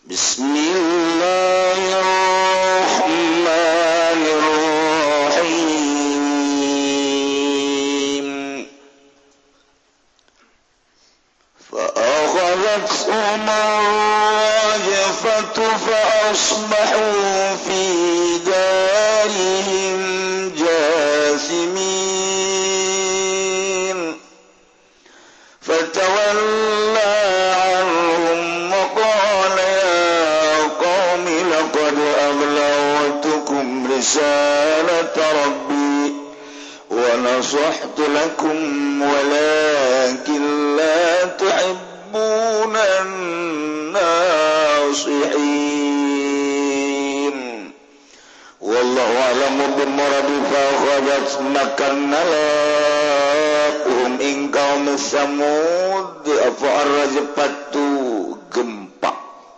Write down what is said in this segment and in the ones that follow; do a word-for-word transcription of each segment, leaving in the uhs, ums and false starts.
Bismillahirrahmanirrahim. Fa'akhadhathum ar-rajfatu fa'asbahu fi darihim jathimin. Fatawalla رسالة ربي ونصحت لكم ولكن لا تحبون الناصحين والله أعلم بالمراد فأخذت مكان لهم إن قوم ثمود فأرجفت gempa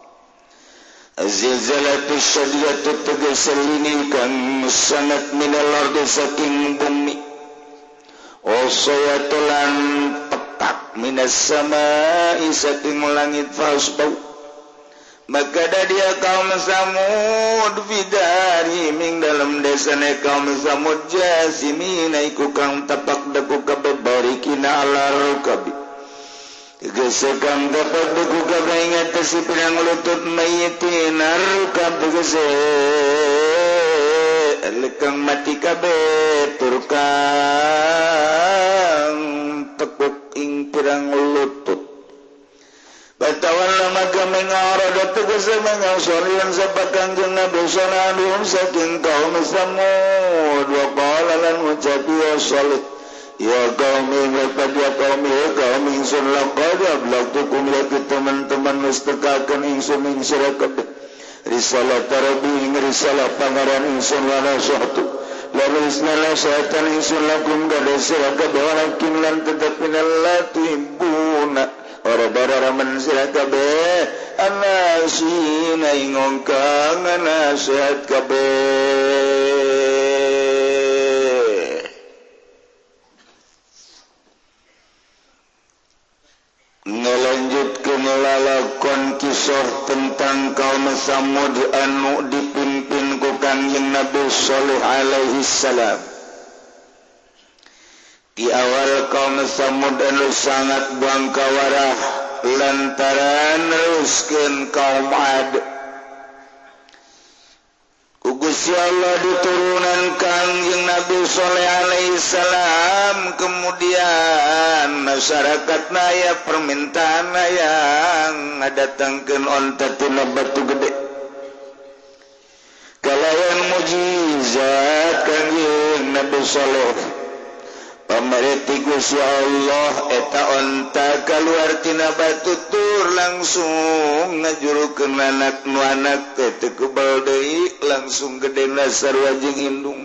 Zilzalatu syadidatu tegasal ini kan sangat minal ardi saking bumi Wasayatulan petak minas samai saking langit fasbau Maka ada dia kaum Samud Fidari ming dalam desanya kaum Samud Jasimina iku kang tapak daku kabeh barikina ala rukabi Gesekang dapat buku kabeh ingat si pirang lutut mayitin arukab tegese lekang mati kabeh turkang tekuk ing pirang lutut Batawalla maka mengarada tegese mengasorian sabakan jeung Nabi sallallahu saking kaum Samud wa qala lan ucapiya salih Ya qaumi laqad ya qaumi ya qaumi insun laqad ablaqtukum ya teman-teman mustaqakan insun ing sira kabeh risalah rabbi ing risalah pangaran insun wa nasihatu la risala syaitan insun lakum kada sira kabeh walakin lan tetep minal tuhibbuna ora daraman sira kabeh anasina ing ongkang nasihat kabeh Ngelanjutkan lalakon kisah tentang kaum Samud anu dipimpin ku Kangjeng Nabi Shalih alaihi salam. Di awal kaum Samud anu sangat bangkawarah lantaran neruskeun kaum Ad. Gusti Allah diturunan Kangjeng Nabi Shalih alaihi salam kemudian masyarakat naya permintaan yang ngadatangkeun onta tina batu gede kalayan mujizat Kangjeng Nabi Shalih pamarti Gusti Allah eta onta kaluar tina batu tur langsung ngajurukeun anak nu anak teh kebal deui langsung gedena sarua jeung indung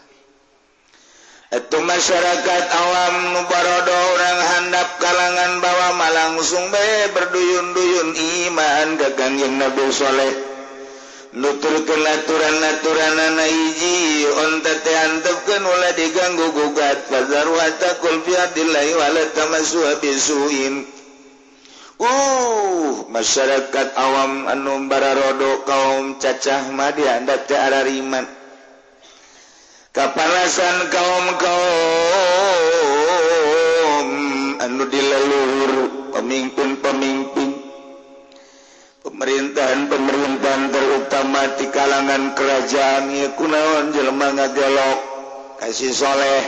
Itu masyarakat awam nu barodo orang handap kalangan bawah malah langsung be berduyun-duyun iman ka Kangjeng Nabi Shalih nuturkeun aturan-aturanana hiji onta teh antepkeun ulah diganggu gugat fazar wa taqul fi adillahi wa la tamassu bisuin uh masyarakat awam anu bararodo kaum cacah mah diandat teh arariman kapanasan kaum-kaum anu dileluhur pemimpin-pemimpin pemerintahan-pemerintahan terutama di kalangan kerajaan ieu kunaon jelema ngagelok kasih soleh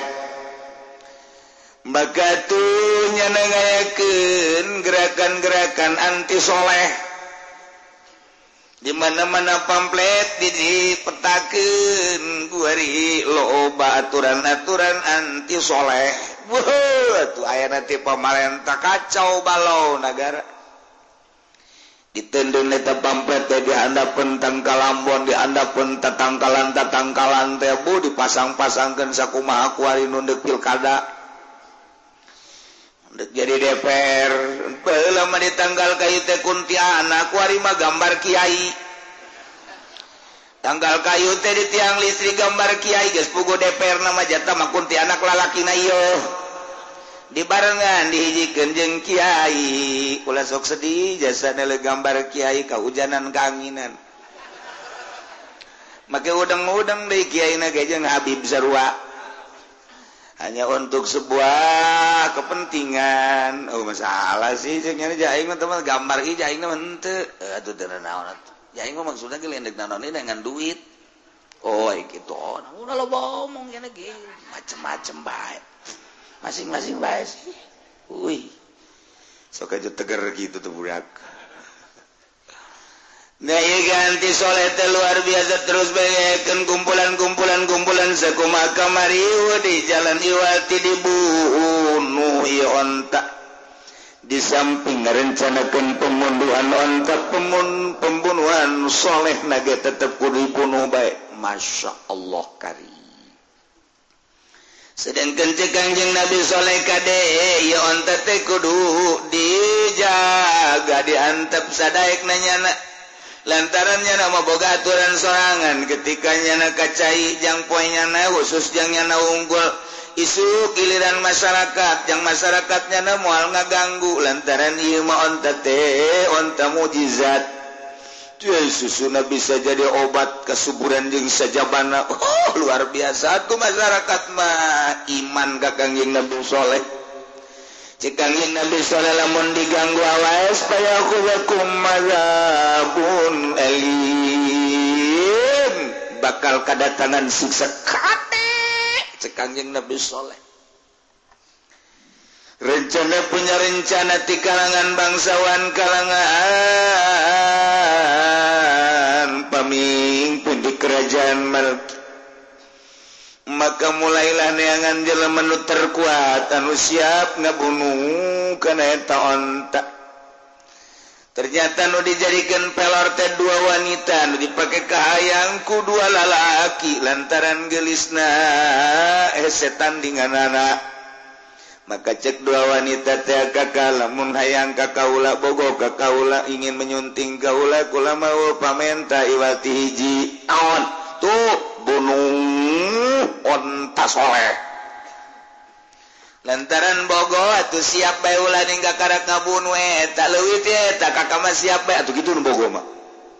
maka tuh nyanangayakeun gerakan-gerakan anti soleh di mana-mana pamflet dipetakeun kuari loba aturan-aturan anti soleh. Wah, atuh aya nanti pamarentah kacau balau negara. Ditendun eta pamflet teh dihandapeun tangkalambon, dihandapeun tatangkalan-tatangkalan teh bu dipasang-pasangkeun sakumaha kuari nu deuk pilkada. Jadi D P R lama di tanggal kayu teh kuntianak kuari mah gambar kiai tanggal kayu teh di tiang listrik gambar kiai geus puguh D P R nama jatah mah kuntianak lalakina ieu dibarengan dihijikan jeung Kiai ulah sok sedih jasa nele gambar Kiai kaujanan kanginan make udang-udang deui Kiai na ge jeung Habib Sarua hanya untuk sebuah kepentingan oh masalah sih jeung nya aing mah teman gambar ieu aing mah henteu atuh teu naon atuh aing mah maksudna ge lendek naon dengan duit oh kitu oh udah lo ngomong nya ge macem-macem bae masing-masing bae sih. Wih. Sok aja tegar gitu tuh budak. Nah, iya ganti soleh teh luar biasa terus bayakeun kumpulan-kumpulan kumpulan sakumaha kamari di jalan Iwati dibunuh ieu onta. Di samping ngarencanakeun pemunduhan onta pemun pembunuhan soleh nage tetep kudu dibunuh bae. Masya Allah karim. Sedangkan cek Kangjeng Nabi Soleh kade ya onta teh kudu dijaga diantep sadaek nanyana lantaran nyana mah boga aturan sorangan ketika nyana kacai jang poe nyana khusus jang nyana unggul isu giliran masyarakat jang masyarakat nyana moal ngaganggu lantaran ieu mah onta teh onta mujizat susuna bisa jadi obat kesuburan jeung sajabana oh luar biasa tuh masyarakat mah iman ka Kangjeng Nabi Soleh cek Kangjeng Nabi Soleh lamun diganggu awaes supaya kulakum mazabun elim bakal kadatangan siksa kate cek Kangjeng Nabi Soleh rencana punya rencana di kalangan bangsawan kalangan pamimpin di kerajaan Malki maka mulailah neangan jelema nu terkuat anu siap ngabunuh kana eta onta ternyata nu dijadikeun pelor teh dua wanita nu dipake kahayang ku dua lalaki lantaran geulisna eh setan dinganana maka cek dua wanita teh kakak lamun hayang kakaula bogo kakaula ingin menyunting kaula kula mau pamenta Iwati hiji naon tuh bunuh onta soleh lantaran bogo atuh siap bae ulah ningga karak ngabunuh eta leuwih teh eta kakak mah siap bae atuh kitu nu bogo mah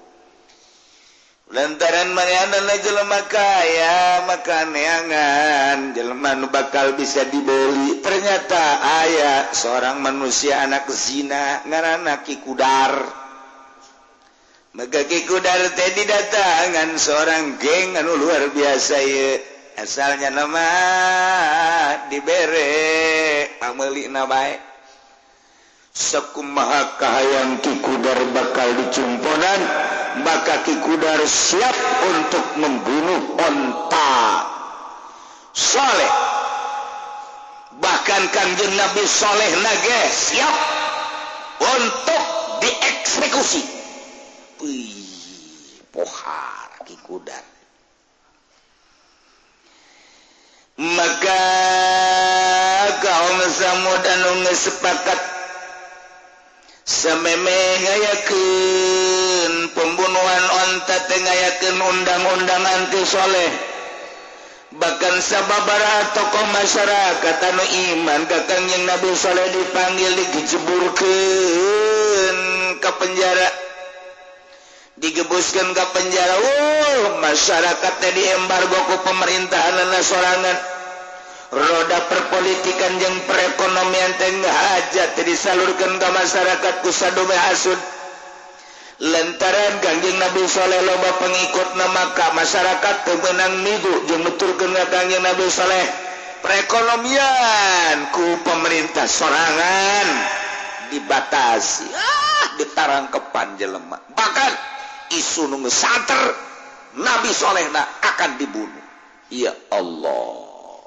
lantaran manehna jelema kaya maka neangan jelema nu bakal bisa dibeli ternyata aya seorang manusia anak zina ngaranna Ki Kudar maka Ki Kudar teh didatangan seorang geng anu luar biasa ieu asalnya nama dibere pameulina bae sakumaha kahayang Ki Kudar bakal dicumponan maka Ki Kudar siap untuk membunuh onta soleh bahkan Kangjeng Nabi Soleh nage siap untuk dieksekusi wih pohar Ki Kudar maka kaum Samud anu geus sepakat sameme ngayakeun pembunuhan onta teh ngayakeun undang-undang anti soleh bahkan sababaraha tokoh masyarakat anu iman ka Kangjeng Nabi Soleh dipanggil dijeburkeun ka penjara digebuskeun ka penjara oh masyarakat teh diembargo ku pemerintahan sorangan roda perpolitikan jeung perekonomian teh hajat disalurkeun ka masyarakat ku sadome hasud lantaran Kangjeng Nabi Soleh loba pengikutna maka masyarakat teu meunang midu jeung nuturkeun ka Kangjeng Nabi Soleh perekonomian ku pemerintah sorangan dibatasi ah ditarangkepan jelema bahkan isu nu geus santer Nabi Solehna akan dibunuh ya Allah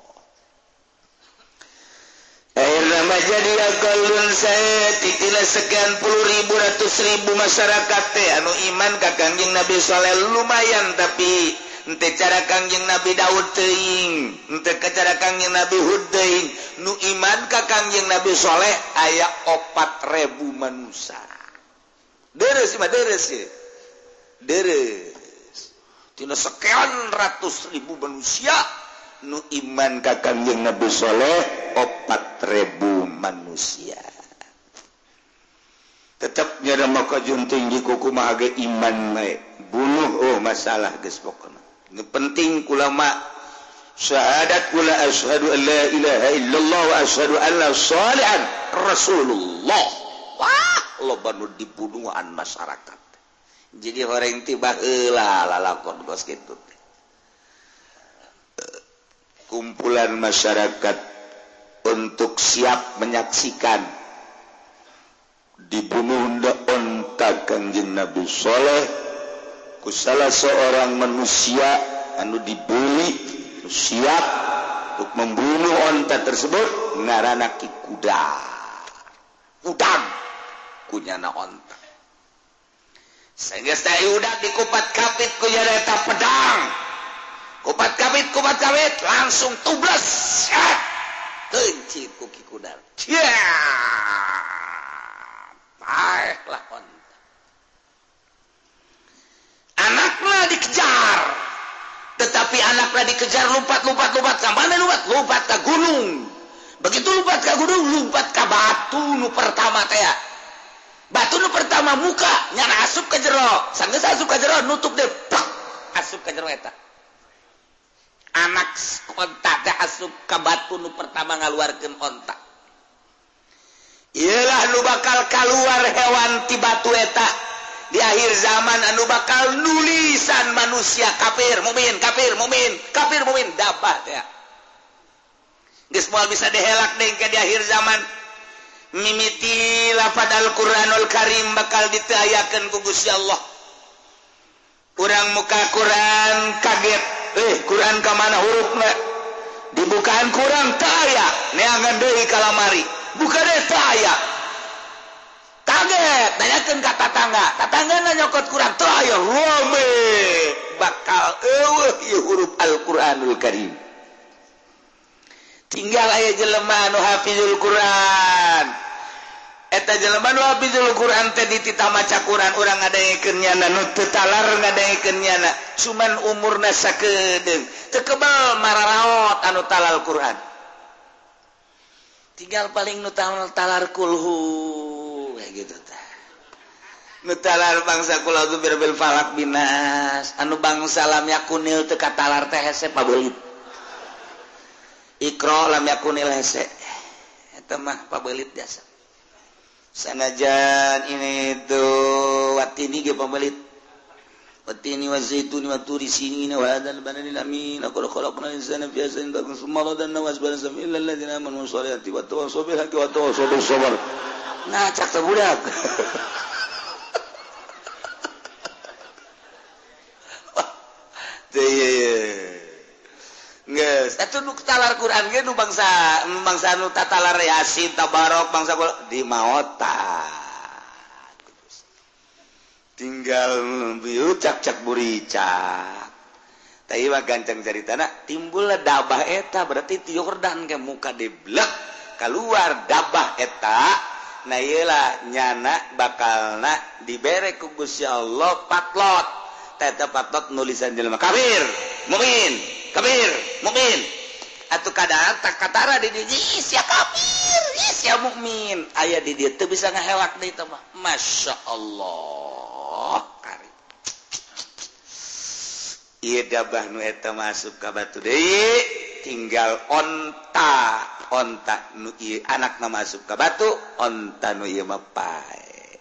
akhirnya jadi akalun saya titilah sekian puluh ribu ratus ribu masyarakat teh anu iman ka Kangjeng Nabi Soleh lumayan tapi ente cara Kangjeng Nabi Daud teuing ente cara Kangjeng Nabi Hud teuing nu iman ka Kangjeng Nabi Soleh aya opat ribu manusia deres mah deres ya deres tina sekian ratus ribu manusia nu iman ka Kangjeng Nabi Saleh opat ribu manusia tetap nyada maka junting di kuku mah aga iman mae bunuh oh masalah geus pokona nu penting ulama syahadat kula asyhadu an la ilaha illallah wa asyhadu anna shalihan rasulullah wah loba nu dibunuhan masyarakat jadi orang tiba heula lalakon kos kitu kumpulan masyarakat untuk siap menyaksikan dibunuh onta Kangjeng Nabi Saleh ku salah seorang manusia anu dibuli siap untuk membunuh onta tersebut ngaranna Ki Kuda udang kunyana onta sehingga saya udah dikupat kapit ku eta pedang kupat kapit kupat kapit langsung tublas tenci ku Ki Kuda ya baiklah onta anaknya dikejar tetapi anaknya dikejar lompat-lompat-lompat ke mana lompat? Lompat ke gunung. Begitu lompat ke gunung, lompat ke batu nu pertama teh. Batu nu pertama muka nyana asup ke jero. Sanggeus asup ke jero nutup deh. Pak, asup ke jero eta. Anak onta teh asup ke batu nu pertama ngaluarkeun onta. Iyalah nu bakal keluar hewan ti batu eta. Di akhir zaman anu bakal nulisan manusia kafir mukmin kafir mukmin kafir mukmin dabah teh geus moal bisa dihelak deui ke di akhir zaman mimiti lafaz Al-Qur'anul Karim bakal ditayakeun ku Gusti Allah urang muka Quran kaget eh Quran ka mana hurufna dibukaan kurang teu aya neangan deui ka lamari buka deui teu aya kaget nanyakeun ka tatangga tatanggana nyokot kurang teu aya rome bakal eueuh ieu huruf Al-Qur'anul Karim tinggal aya jelema anu hafizul Quran eta jelema nu hafizul Quran teh ditita maca Quran urang ngadaengkeun nyana nu teu talar ngadaengkeun nyana cuman umurna sakedeung teu kebal mararaot anu talal Quran tinggal paling nu talar kulhu gitu teh nu talar bangsa kula tu birbil falak binas anu bangsa lam yakunil teu katalar teh hese pabeulit Iqra lam yakunil hese eta mah pabeulit biasa sanajan ini tuh watini ge pabeulit watini wa zaituni wa turi sinin wa hadzal baladil amin laqad khalaqnal insana fi ahsani taqwim summa radadna wa asbalna illa alladziina amanu wa shalihati wa tawassaw bil haqqi wa tawassaw bis sabr ngacak teh budak teh geus atuh nu talar Quran ge nu bangsa bangsa nu tatalar Yasin tabarok bangsa di maota tinggal bieu cak-cak buricak tapi mah gancang caritana timbul dabah eta berarti ti Yordan ke muka deblek keluar dabah eta nah iyalah nyana bakalna dibere ku Gusti Allah patlot eta patlot nulisan jelema kafir mukmin kafir mukmin atuh kadang tak katara di dieu sia kafir sia mukmin aya di dieu teu bisa ngahelak deui teh mah masyaallah kari ieu dabah nu eta masuk ka batu deui tinggal onta onta nu ieu anakna masuk ka batu onta nu ieu mah pae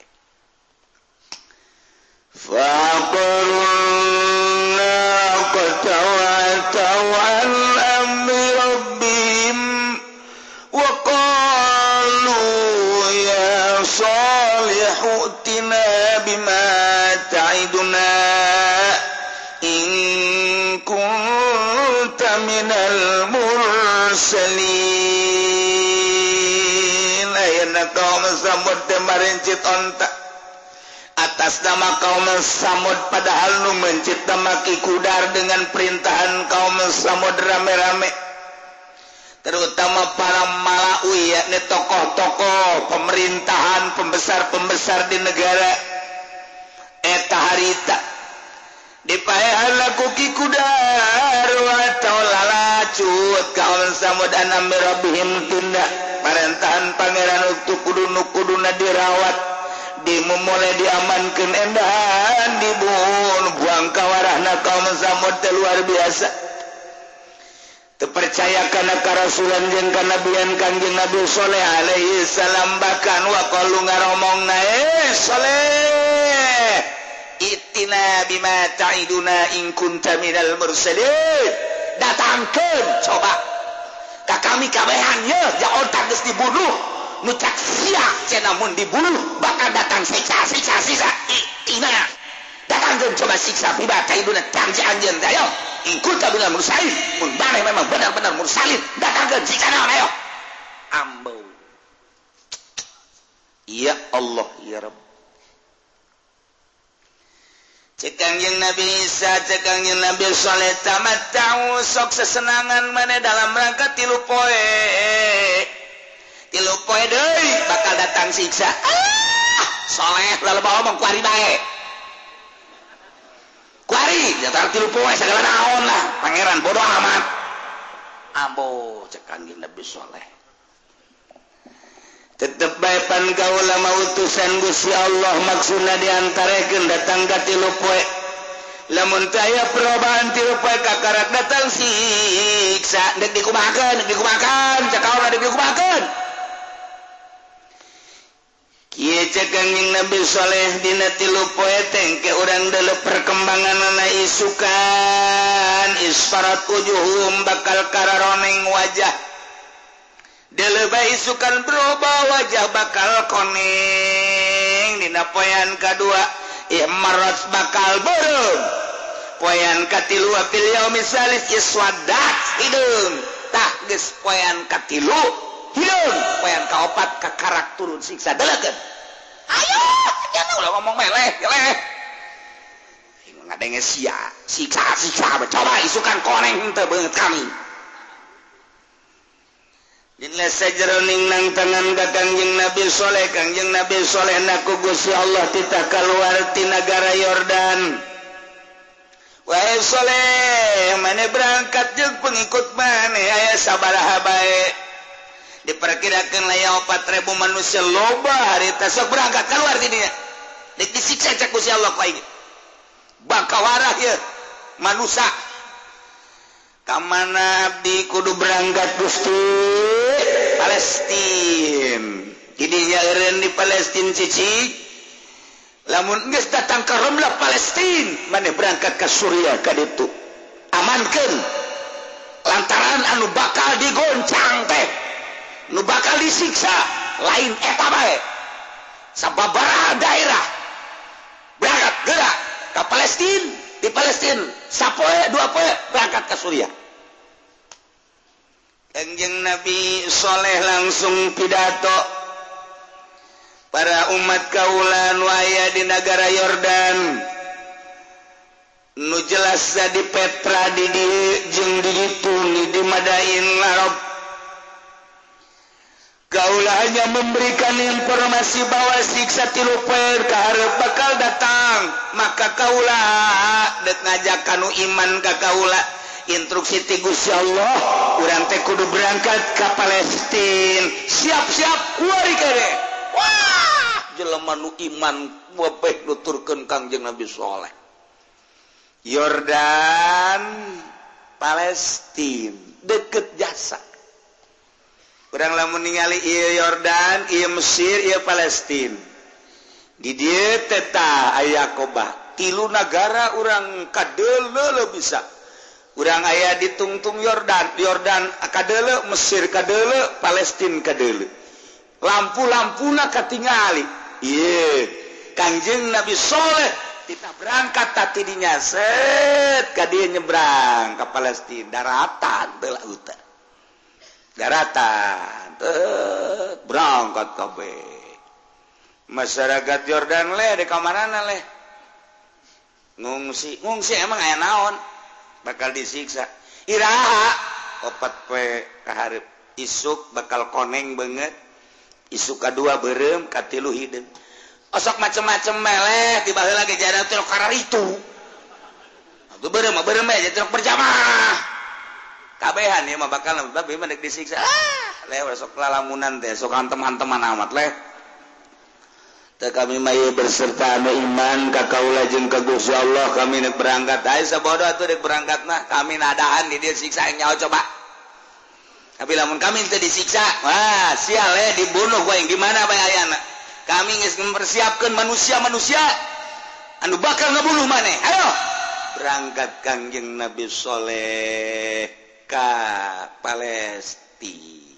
faqulna qatawatau an amri rabbihim wa qalu ya salihu tina bima ta'iduna in kunta minal mursalin ayana kaum Samud teh marincit onta atas nama kaum Samud padahal nu mencit nama Ki Kudar dengan perintahan kaum Samud rame-rame terutama para malawi yakni tokoh-tokoh pemerintahan pembesar-pembesar di negara eta harita dipaehan kuki kudar wa taulala cut kaul samud anam rabbihim tindak parentahan pangeran untuk kudu kuduna dirawat dimulai diamankeun endahan dibunuh buang kawarahna kaum samud teh luar biasa terpercaya kana karasulan jeung kanabian Kangjeng Nabi Saleh alaihi salam bahkan wa qalu ngaromongna eh Saleh itina bima ta'iduna in kunta minal mursalin datangkeun coba ka kami kabehan ye jaon geus dibunuh nu cak sia cenah mun dibunuh bakal datang siksa siksa siksa itina datangkeun coba siksa bima ta'iduna janji anjeun ayo in kunta minal mursalin mun bareh memang benar-benar mursalin datangkeun siksa naon ayo ambo ya Allah ya Rabb Cekangjeng Nabi Isa, cekangjeng Nabi Saleh tamat tahu sok sesenangan mana dalam rangka tilu poe, tilu poe deh bakal datang siksa. Ah, Saleh lalu bawa mau kuari bae, kuari jatuh tilu poe segala naon lah, pangeran bodoh amat. Ambo cekangjeng Nabi Saleh. Tetep bae pan kaula mautusan Gusti Allah maksudna diantarekeun datang ka tilu poe lamun teu aya perobaan tilu poe kakarak datang siksa deuk dikumahakeun deuk dikumahakeun cak kaula deuk dikumahakeun kieu cekangjeng Nabi Saleh dina tilu poe teh ke urang deuleu perkembanganna isukan isfarat wujuhum bakal kararoneng wajah Delebay isukan berubah wajah bakal koneng dina poean kadua ihmarat bakal beureum poean katilu fil yaumil salis iswadat hideung tah geus poean katilu hideung poean kaopat kakarak turun siksa delegeun ayo jangan ulah ngomong meleh meleh ngadenge sia siksa siksa coba isukan koneng teu beungeut kami Jinna sajroning nang tangan ka Kangjeng Nabi Saleh Kangjeng Nabi Saleh naku Gusti Allah titah kaluar ti nagara Yordan. Wahai Saleh, mane berangkat jeung pengikut mane aya sabaraha bae. Diperkirakeun aya empat ribu manusia loba harita sok berangkat keluar ti dinya. Dik disiksa cak Gusti Allah ku aing. Bakawarah ye manusia. Kamana abdi kudu berangkat Gusti Palestina didinya eureun di Palestina cicik lamun geus datang ka Ramlah Palestina maneh berangkat ka Suriah ka ditu amankeun lantaran anu bakal digoncang teh nu bakal disiksa lain eta bae sababaraha daerah berangkat gerak ka Palestina di Palestina sapoe dua poe berangkat ka Suriah Kangjeng Nabi Saleh langsung pidato para umat kaula nu aya di negara Yordan nu jelas di Petra di dieu jeung di ditu di Madain Arab kaula hanya memberikan informasi bahwa siksa tilu poe kahareup bakal datang maka kaula deuk ngajak kanu iman ka kaula instruksi ti Gusti Allah urang teh kudu berangkat ka Palestina siap-siap kuari kere wah jelema nu iman wabeh nuturkeun Kangjeng Nabi Saleh Yordan Palestina deket jasa urang lamun ningali ieu Yordan ieu Mesir ieu Palestina di dieu teh tah aya kobah tilu nagara urang kadeuleu bisa urang aya di tungtung Yordan Yordan kadeuleu Mesir kadeuleu Palestina kadeuleu lampu-lampuna katingali ieu Kangjeng Nabi Saleh kita berangkat tadi dinya set ka dieu nyebrang ka Palestina daratan teu lautan daratan teu berangkat kabeh masyarakat Yordan leh di kamarana leh ngungsi ngungsi emang aya naon bakal disiksa iraha opat poe kahareup isuk bakal koneng banget isuk kadua beureum katilu hideung osok macem-macem meleh ti baheula ge jana teh karar itu Tuh berem berem aja truk berjamaah. Kabehan ya mah bakal babi mah dek disiksa. Ah, lewat sok lalamunan teh, sok hantem-hanteman amat leh. Teh kami mah berserta anu iman ka kaula jeung ka Gusti Allah kami nek berangkat. Ai sabodo atuh dek berangkat mah kami nadaan di dieu siksa nyaho coba. Tapi lamun kami teu disiksa, wah sial ya dibunuh we gimana bae ayana. Kami geus mempersiapkeun manusia-manusia anu bakal ngabunuh maneh. Ayo berangkat Kangjeng Nabi Saleh ka Palestina.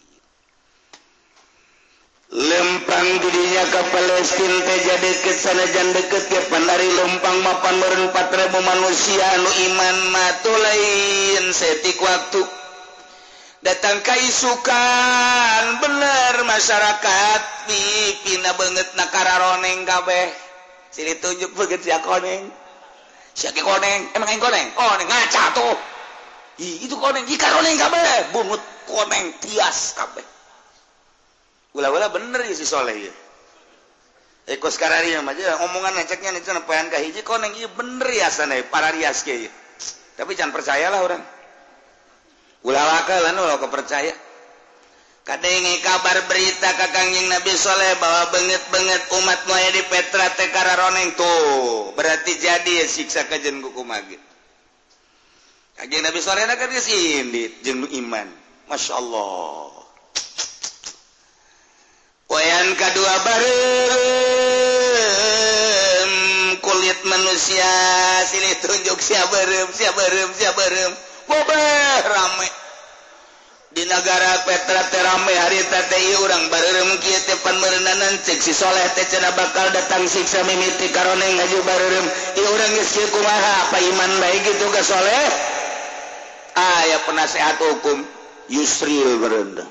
Lempang dirinya ke Palestina teh jadi kesanajan deket ke pandari lempang mapan meureun empat ribu manusia anu iman mah teu lain setik waktu datang kaisukan bener masyarakat pipina beungeut na kararoneng kabeh sini tunjuk beungeut sia koneng sia ke koneng emang aing koneng oh ning ngaca tuh ih itu koneng ih karoneng kabeh bungut koneng tias kabeh ulah-ulah bener ya si Soleh ya ekos karari mah aja omongan ngeceknya nih cenah paean ka hiji koneng ieu bener ya sana para rias ge tapi jangan percayalah orang ulah wakalan ulah kepercaya kadenge kabar berita ka Kangjeng Nabi Saleh bahwa beungeut-beungeut umat nu aya di Petra teh kararoneng tuh berarti jadi siksa ka jeung kumaha ge Kangjeng Nabi Saleh na kan geus indit jeung nu iman masyaallah poean kadua barem kulit manusia silih tunjuk sia barem sia barem sia barem bobeh rame di negara Petra teh rame harita teh ieu urang bareureum kieu teh pan meureunanan cek si Soleh teh cenah bakal datang siksa mimiti karoneng ngaju bareureum ieu urang geus kieu kumaha apa iman bae kitu ka Soleh aya penasehat hukum Yusril bereunda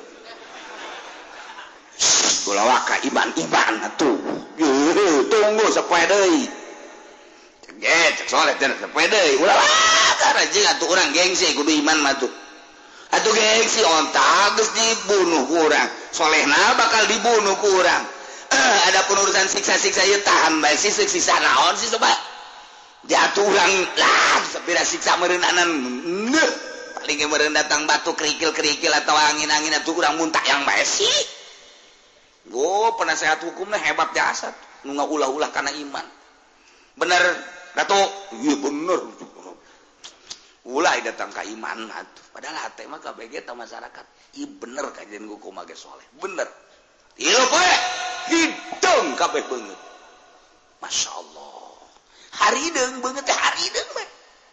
ulah waka iman-iman atuh yuh tunggu sapoe deui cek Soleh teh sapoe deui ulah waka rajing atuh urang gengsi kudu iman mah tuh atuh gengsi ontak geus dibunuh ku urang Solehna bakal dibunuh ku urang eh, ada penurusan siksa-siksa ieu tahan bae si siksa naon sih coba jatuh urang lah sapira siksa meureunanan neuh paling ge meureun datang batu kerikil-kerikil atau angin-angin atuh urang muntah yang bae sih oh penasehat hukumnya hebat jasa nu ngaulah-ulah karena iman bener Dato iya bener ulah datang ka iman atuh padahal hate mah kabeh ge masyarakat ieu bener kajian hukum ge soleh bener ieu poe hidung kabeh beungeut masyaallah harideung beungeut teh harideung mah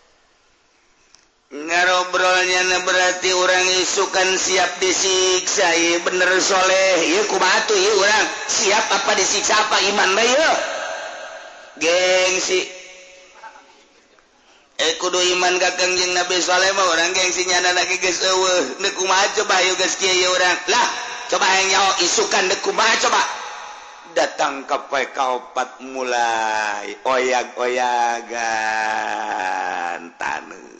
ngarobrolnya berarti orang isukan siap disiksa iya bener Soleh iya kumaha tuh iya orang siap apa disiksa apa iman bae ieu gengsi eh kudu iman ka Kangjeng Nabi Soleh mah orang gengsi nyana lagi geus eueuh deuk kumaha coba ieu geus kieu ieu urang lah coba yang nyaho isukan deuk kumaha coba datang ke P K opat mulai oyag-oyagan taneuh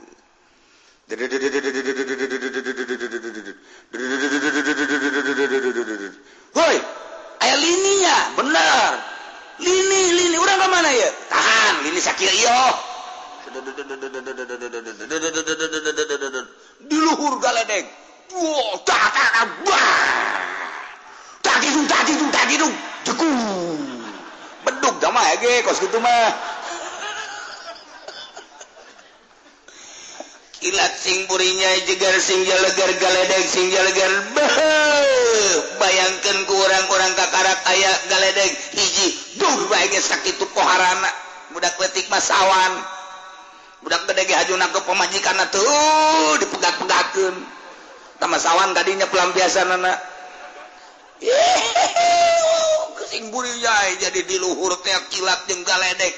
hoi aya lininya bener lini lini urang ka mana ya tahan lini sakieu ieu di luhur galedeg wow tak tak tak gitu tak gitu tak gitu jekung bedug da mah ge kos kitu mah kilat sing burinya jegar sing jalegar galedeg sing jalegar bayangkeun ku urang-urang kakarak aya galedeg hiji duh bae ge sakitu poharana budak leutik mah sawan budak gede ge hajuna ke pamajikanna tuh dipegat-pegatkeun tama sawan tadinya pelampiasanana sing burinya jadi di luhur teh kilat jeung galedeg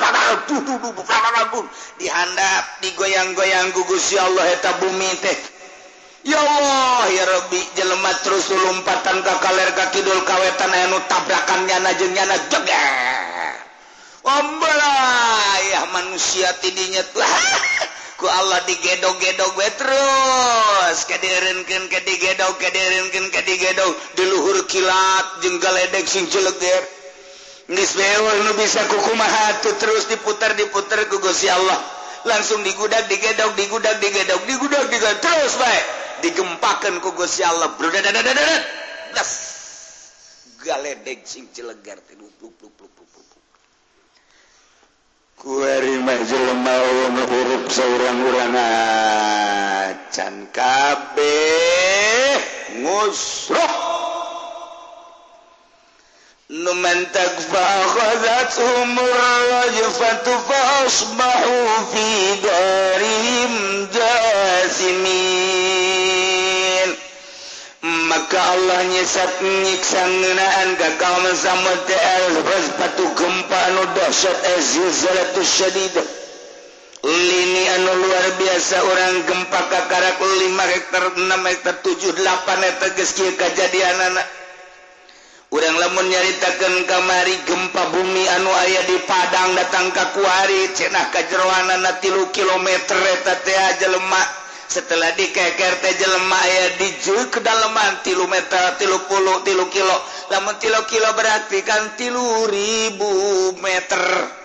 dihandap digoyang-goyang gugus ya Allah eta bumi teh ya Allah ya Rabbi jelema terus lompatan ka kaler ka kidul kawetan anu tabrakan nyana jeung nyana jeger ombalah ya manusia tidinya lah ku Allah digedog-gedog we terus kadeureunkeun ka digedog kadeureunkeun ka digedog di luhur kilat jeung galedeg sing jeleger geus beol nu bisa kukumaha tuh terus diputar-diputar ku Gusti Allah langsung digudak digedok digudak digedok digudak digedok terus baik digempakan ku Gusti Allah brodadadadadad das galedeg sing cilegar teh pluk pluk pluk pluk kuari mah jelema nu hurup saurang-urang acan kabeh ngusruh numan takfa khadat umur rajfatu fasbahu fi darihim jasimin maka Allah nyesat nyiksa ngeunaan ka kaum Samud terus patu gempa anu dahsyat azizalatus syadidah lini anu luar biasa orang gempa kakarak lima hektar enam hektar tujuh delapan eta geus kieu kajadianana urang lamun nyaritakeun kamari gempa bumi anu aya di Padang datang ka kuari cenah kajeroanana tilu kilometer eta teh jelema setelah dikeker teh jelema aya di jeuk kedalaman tilu meter tilu puluh tilu kilo lamun tilu kilo berarti kan tilu ribu meter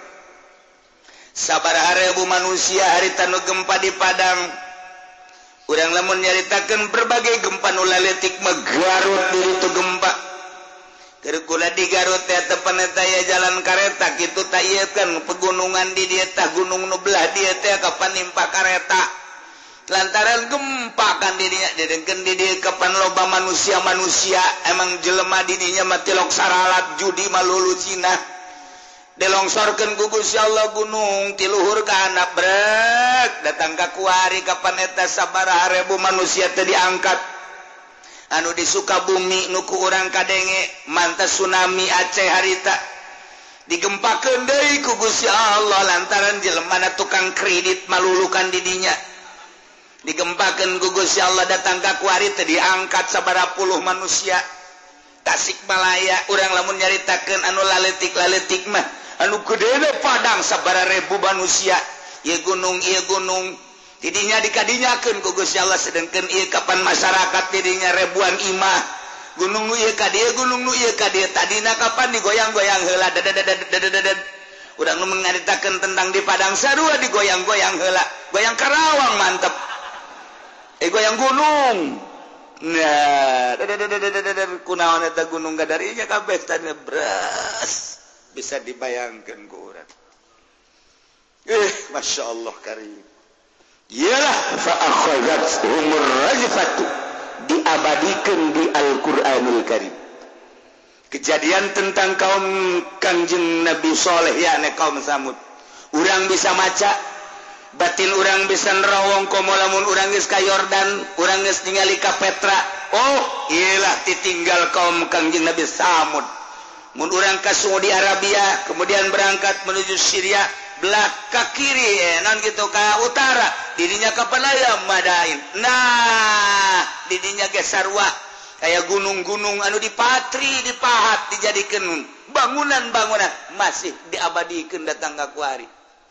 sabaraha ribu manusia harita nu gempa di Padang urang lamun nyaritakeun berbagai gempa nu laletik mah Garut diri tu gempa Kula di Garut teh tepan eta aya jalan kareta kitu tah ieu kan pegunungan di dieu tah gunung nu belah dieu teh kapan nimpa kareta lantaran gempa kan di dinya dedengkeun di dieu kapan loba manusia-manusia emang jelema di dinya mah tilok saralat judi malulu Cina dilongsorkeun ku Gusti Allah gunung ti luhur ka handap brek datang ka kuari kapan eta sabaraha ribu manusia teh diangkat anu di Sukabumi nuku urang kadenge mantas tsunami Aceh harita digempakeun deui ku Gusti Allah lantaran jelemana tukang kredit malulukan di dinya digempakeun ku Gusti Allah datang ka kuari teh diangkat sabaraha puluh manusia Tasikmalaya urang lamun nyaritakeun anu laletik-laletik mah anu gedena Padang sabaraha ribu manusia ieu gunung ieu gunung tidinya dikadinyakeun ku Gusti Allah sedengkeun ieu kapan masyarakat tidinya ribuan imah gunung nu ieu ka dieu gunung nu ieu ka dieu tadina kapan digoyang-goyang heula dadadadadadadad urang nu mengaritakeun tentang di Padang sarua digoyang-goyang heula goyang Karawang mantep eh goyang gunung nah dadadadadadad kunaon eta gunung gadarinya kabeh tadi bras bisa dibayangkeun ku urang eh masyaallah karim ialah fa'akhadhat umur rajfatu diabadikan di Al-Quranul Karim kejadian tentang kaum Kangjeng Nabi Saleh yakni kaum Samud urang bisa maca batin urang bisa nerawong komo lamun urang geus ka Yordan urang geus ningali ka Petra oh ialah ditinggal kaum Kangjeng Nabi Samud mun urang ka Saudi Arabia kemudian berangkat menuju Syria belah ka kiri eh, non gitu ka utara dirinya ka Palaya Madain nah dirinya ge sarua kaya gunung-gunung anu dipatri dipahat dijadikeun bangunan-bangunan masih diabadikeun datang ka kuari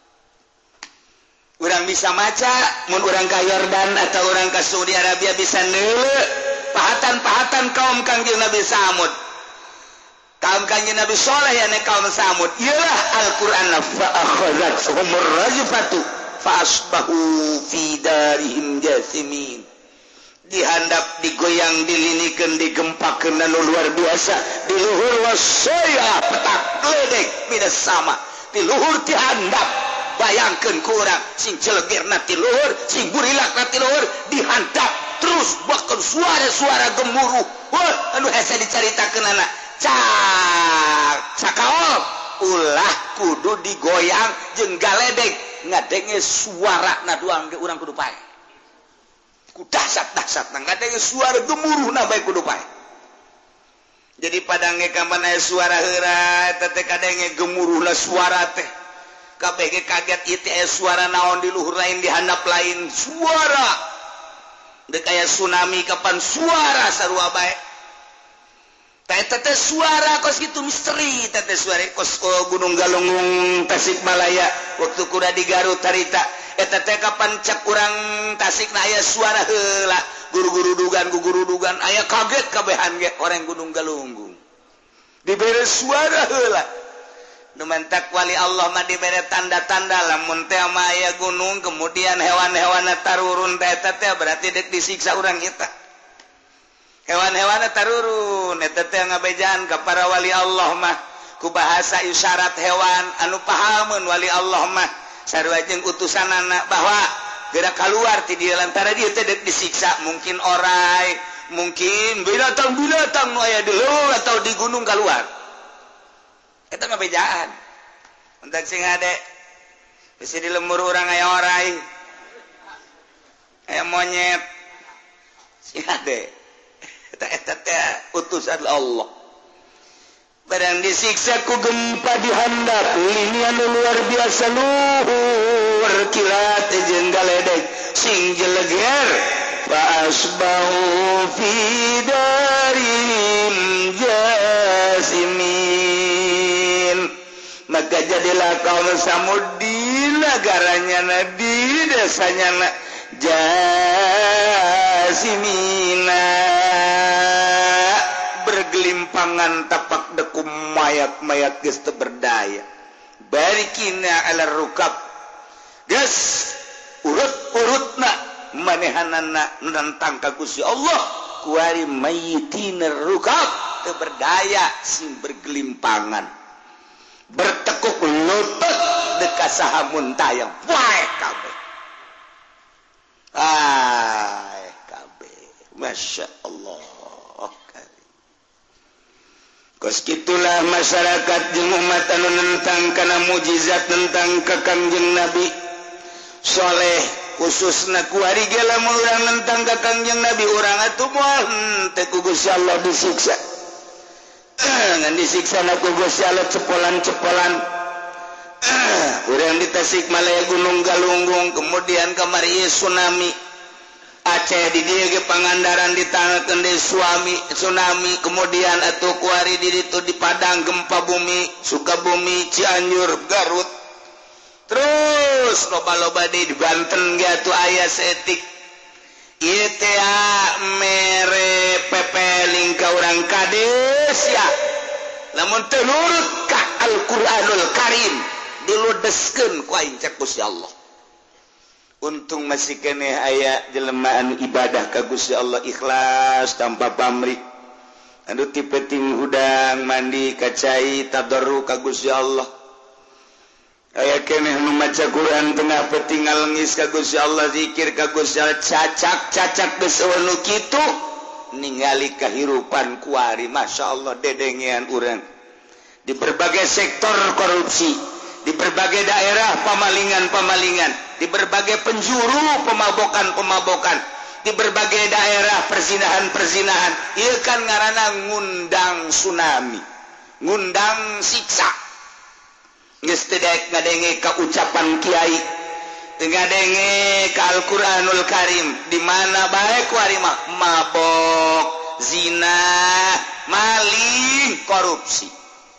urang bisa maca mun urang ka Yordan atau urang ka Saudi Arabia bisa neuleuh pahatan-pahatan kaum Kangjeng Nabi Samud kaum Kangjeng Nabi Saleh yakni kaum Samud ialah Al-Qur'an fa akhadhat humur rajfatu fa asbahu fi darihim jasimin dihandap digoyang dilinikeun digempakeun anu luar biasa di luhur wasaya petak gledek midas sama di luhur ti handap bayangkeun ku urang sing celegerna ti luhur sing burilakna ti luhur dihandap terus bahkan suara-suara gemuruh wah anu hese dicaritakeun anak cak cakaol ulah kudu digoyang jeung galedeg ngadenge suara na doang ge urang kudu pae ku dahsyat-dahsyat ngadenge suara gemuruhna bae kudu pae jadi padange kapan aya suara heura eta teh kadenge gemuruhna suara teh kabeh ge kaget ieu teh aya suara naon di luhur lain di handap lain suara deuk aya tsunami kapan suara sarua bae tete suara kos gitu misteri tete suara kos Gunung Galunggung Tasikmalaya waktu kuda di Garut harita eta teh kapan cak urang Tasik na aya suara heula guru-guru dugan guru dugan aya kaget kabehan ge orang Gunung Galunggung dibere suara heula Numentak wali Allah mah dibere tanda-tanda lamun teh mah aya gunung kemudian hewan-hewanna tarurun teh teh berarti dek disiksa urang kita. Hewan-hewanna tarurun eta teh ngabejaan ka para wali Allah mah ku bahasa isyarat hewan anu pahameun wali Allah mah sarua jeung utusanana bahwa gerak keluar ti dieu lantaran dieu teh dek disiksa mungkin orai, mungkin binatang-binatang nu aya di leuweung atau di gunung keluar. Itu ngabejaan untuk sing ade bisa di lembur orang aya orai aya monyet sing ade eta eta teh utusan Allah barang disiksa ku gempa di handap ini anu luar biasa luhur kilat jeung galedeg sing jeleger fa asbahu fi darim jasimin maka jadilah kaum Samud di negaranya di desanya jasimina bergelimpangan tapak dekum mayat-mayat geus teu berdaya barikina ala rukab geus urut-urutna manehanana nentang ka Gusti Allah kuari mayitina rukab teu berdaya sing bergelimpangan bertekuk lutut dekat saha muntayang wae kabeh ay kabeh masya Allah karim kos kitulah masyarakat jeung umat anu nentang kana mujizat tentang ka Kangjeng Nabi soleh khususna ku ari ge lamun urang nentang ka Kangjeng Nabi urang atuh moal teh ku Gusti Allah disiksa ngan disiksa na ku Gusti Allah cepolan-cepolan urang di Tasikmalaya Gunung Galunggung kemudian kamari tsunami Aceh di dieu ge Pangandaran ditangakeun deui suami tsunami kemudian atuh ku ari di ditu di Padang gempa bumi Sukabumi Cianjur Garut terus loba-loba di Banten ge atuh aya saeutik ieu teh mere pepeling ka urang kades ya lamun teu nurut ka Al-Qur'anul Karim diludeskeun ku aing cek Gusti Allah untung masih keneh aya jelema anu ibadah ka Gusti Allah ikhlas tanpa pamrih anu ti penting hudang mandi ka cai tadarru ka Gusti Allah aya keneh nu maca Quran tengah penting ngalengis ka Gusti Allah zikir ka Gusti Allah cacak-cacak geus nu kitu ningali kahirupan kuari masyaallah dedengean urang di berbagai sektor korupsi di berbagai daerah pemalingan-pemalingan di berbagai penjuru pemabokan-pemabokan di berbagai daerah perzinahan-perzinahan ieu kan ngaranna ngundang tsunami ngundang siksa geus teu daek ngadenge ka ucapan kiai teu ngadenge ka Al-Qur'anul Karim di mana bae ku ari mah mabok zina maling korupsi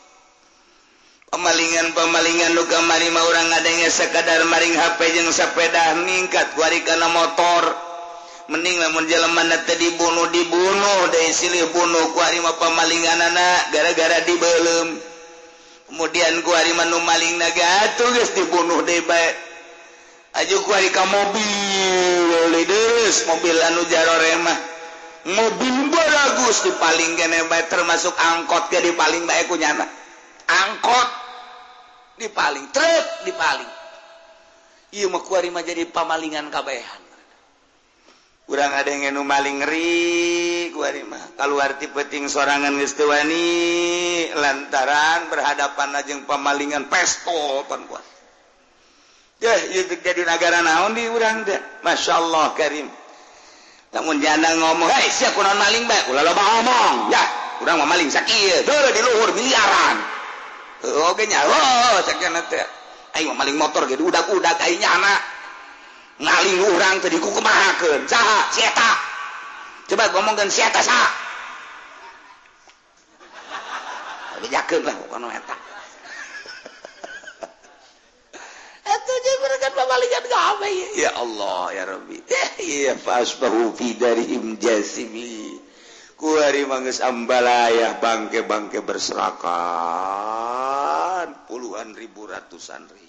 pemalingan-pemalingan nu kamari mah urang ngadenge sakadar maring H P jeung sepeda ningkat ku ari kana motor mending lamun jelema teh dibunuh dibunuh deui silih bunuh ku ari mah pemalinganana gara-gara dibeulem kemudian ku ari mah nu maling naga atuh geus dibunuh deui bae aju ku ari ka mobil deus mobil anu jarore mah mobil bagus dipaling keneh bae termasuk angkot ge dipaling bae ku nyana angkot dipaling truk dipaling ieu mah ku ari mah jadi pamalingan kabehan urang ada yang nu maling ngeri ku ari mah kaluar ti peuting sorangan geus teu wani lantaran berhadapan jeung pamalingan pestol pan kuat yah ieu jadi nagara naon di urang teh masyaallah karim lamun janda ngomong hei sia kunaon maling bae ulah loba ngomong ya urang mah maling sakieu teu di luhur miliaran oge nya oh sakana teh aing mah maling motor ge udak-udak aing nyana ngaling urang teh dikukumahakeun saha si eta coba ngomongkeun si eta saha bejakeun lah kono eta eta jeung berekan pamalingan gawe ya Allah ya Rabbi ya fasbahu fi darihim jasimi ku ari manggeus ambalayah bangke-bangke berserakan puluhan ribu ratusan ribu.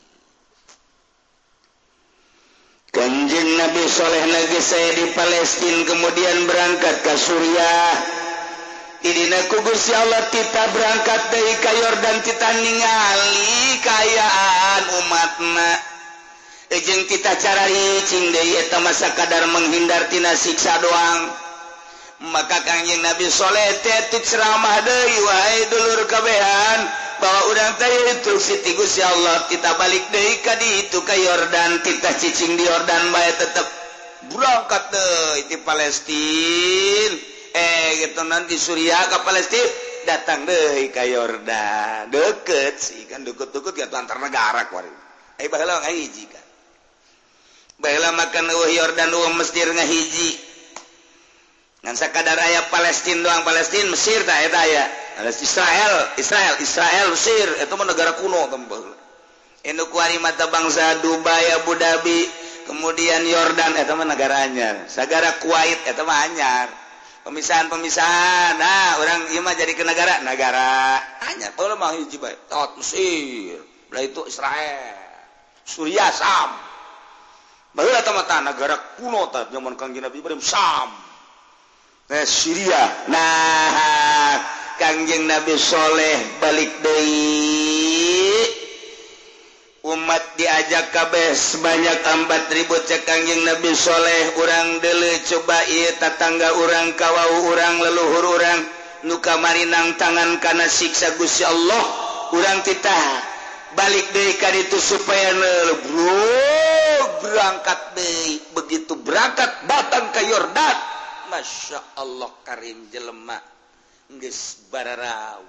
Kanjeng Nabi Soleh lagi saya di Palestina kemudian berangkat ke Suriah. Idina ku Gusti Allah kita berangkat dari ka Yordan kita ningali kayaan umatna. Ejeng kita cara ricing deui eta masa kadar menghindar tina siksa doang. Maka Kanjeng Nabi Soleh teh ceramah deui wahai dulur kabehan bahwa urang teh instruksi ti Gusti Allah kita balik deui ka ditu ka Yordan kita cicing di Yordan bae tetep berangkat deui di Palestina eh gitu nanti Suriah ke Palestina datang deui ka Yordan deket sih kan deket-deket ya antar negara kuari ai baheula ngahiji kan baheula makan eueuh Yordan eueuh Mesir ngahiji ngan sakadar aya Palestina doang Palestina Mesir tah eta aya Israel Israel Israel Mesir itu mah negara kuno tempel anu kuari mata bangsa Dubai Abu Dhabi kemudian Yordan eta mah negara anyar sagara Kuwait eta mah anyar pemisahan-pemisahan nah orang ieu mah jadi ke negara negara anyar teu mah hiji bae tot Mesir belah itu Israel Suriah Sam baheula eta mah negara kuno tah zaman Kangjeng Nabi Ibrahim Sam nah Syria nah Kangjeng Nabi Soleh balik deui umat diajak kabeh sebanyak empat ribu cek Kangjeng Nabi Soleh urang deuleu coba ieu tatangga urang kawau urang leluhur urang nu kamari nang tangan kana siksa Gusti Allah urang titah balik deui ka ditu supaya neuleuh berangkat deui begitu berangkat datang ke Yordan Masya Allah karim jelema geus bararau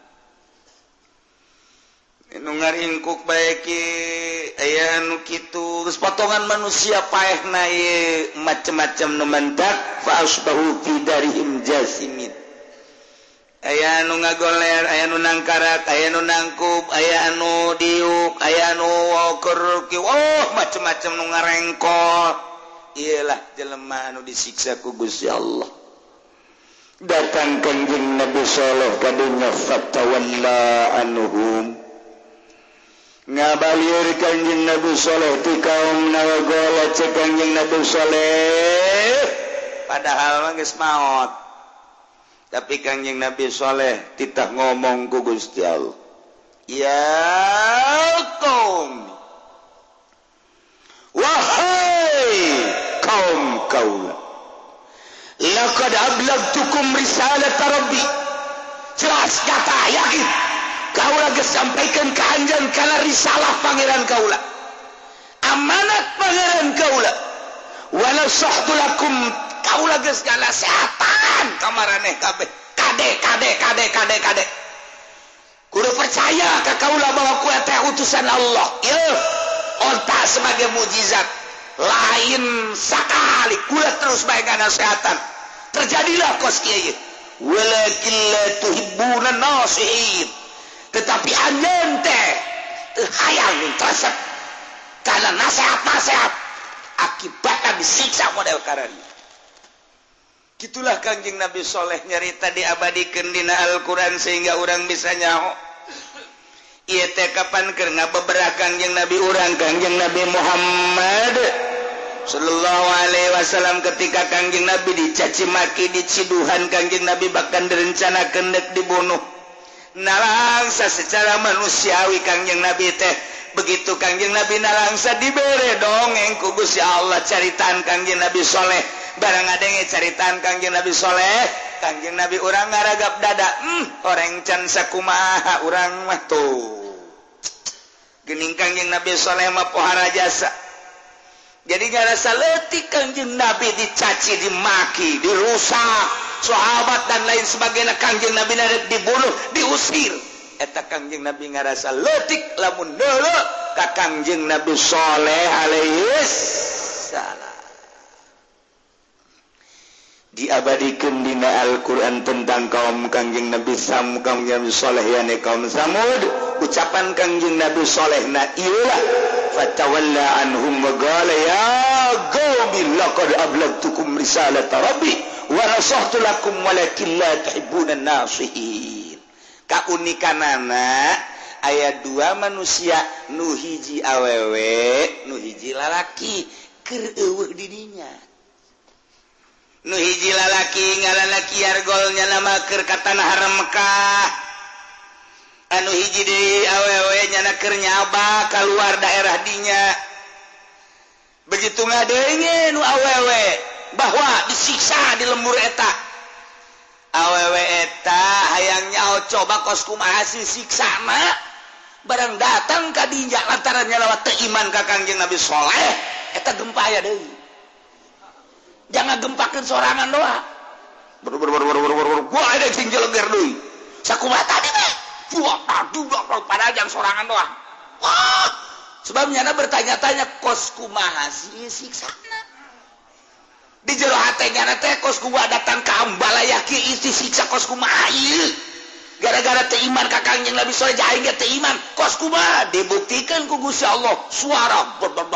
nu ngaringkuk bae ki aya nu kitu geus potongan manusia paehna ye macem-macem nu mendak fa asbahu fi darihim jasimin aya nu ngagoler aya nu nangkarak aya nu nangkup aya anu diuk aya nu woker ki oh macem-macem nu ngarengkol ialah jelema anu disiksa ku Gusti Allah datang Kanjeng Nabi Soleh kadunya fatawalla anhum ngabalieur Kanjeng Nabi Soleh ti kaum nawagola cek Kanjeng Nabi Soleh padahal mah geus maot tapi Kanjeng Nabi Soleh titah ngomong ku Gusti Allah ya kaum wahai kaum kaula laqad ablagtukum risalat rabbi jelas kata yakin kaula geus sampaikan ka anjeun kana risalah pangeran kaula amanat pangeran kaula wala sahtu lakum kaula geus ngasehatan ka maraneh kabeh kade kade kade kade kade kudu percaya ka kaula bahwa kuwi teh utusan Allah ieu onta sebagai mukjizat lain sakali kula terus bae kana nasihatkan terjadilah kos kieu walakin la tuhibbuna nasihin tetapi anjeun teh teu hayang tresep kana nasihat-nasihat akibatna disiksa model karana gitulah Kanjeng Nabi Soleh nyarita diabadikeun dina Al-Qur'an sehingga urang bisa nyaho ieu teh kapan keur ngabeberah Kanjeng Nabi urang Kanjeng Nabi Muhammad sallallahu alaihi wasallam ketika Kanjeng Nabi dicaci maki diciduhan Kanjeng Nabi bahkan direncanakeun deuk dibunuh nalangsa secara manusiawi Kanjeng Nabi teh begitu Kanjeng Nabi nalangsa dibere dongeng ku Gusti Allah caritaan Kanjeng Nabi Soleh barang ngadenge caritaan Kanjeng Nabi Soleh Kanjeng Nabi urang ngaragap dada hmm orang can sakumaha urang mah tuh geuning Kanjeng Nabi Soleh mah pohara jasa jadi ngarasa leutik Kanjeng Nabi dicaci dimaki dirusak sahabat dan lain sebagainya Kanjeng Nabi narek dibunuh diusir eta Kanjeng Nabi ngarasa leutik lamun deuleu ka Kanjeng Nabi Soleh alaihi salam diabadikeun dina Al-Qur'an tentang kaum Kanjeng Nabi Sam kaum Nabi Soleh yane kaum Samud ucapan Kanjeng Nabi Soleh na ieulah fatawalla anhum wa qala ya qaumi laqad ablagtukum risalata rabbi wa nasahtu lakum walakin la tuhibbuna nasihin kaunikanana ayat dua manusia nuhiji awewe nuhiji lalaki keur eueuh didinya nuhiji lalaki ngaranna Kiargolnya nama keur ka tanah haram Mekah anu hiji deui awewe nyana keur nyaba keluar daerah dinya begitu ngadeungeun nu awewe bahwa disiksa di lembur eta awewe eta hayang nyao coba kos kumaha si siksana barang datang ka dinya lantaran nyalawat teu iman ka Kangjeng Nabi Saleh eta gempa aya deui jangan gempakeun sorangan doa ber ber ber ber ber ber gua ada sing jeleger deui sakumaha tadi teh buak tadu padahal jang sorangan doa wah sebabnya na bertanya-tanya kos kumaha si siksana di jero hatenya teh kos kumaha datang ka ambalaya kieu isi siksa kos kumaha ieu gara-gara teu iman ka Kangjeng Nabi saleh aing ge teu iman kos kumaha dibuktikan ku Gusti Allah suara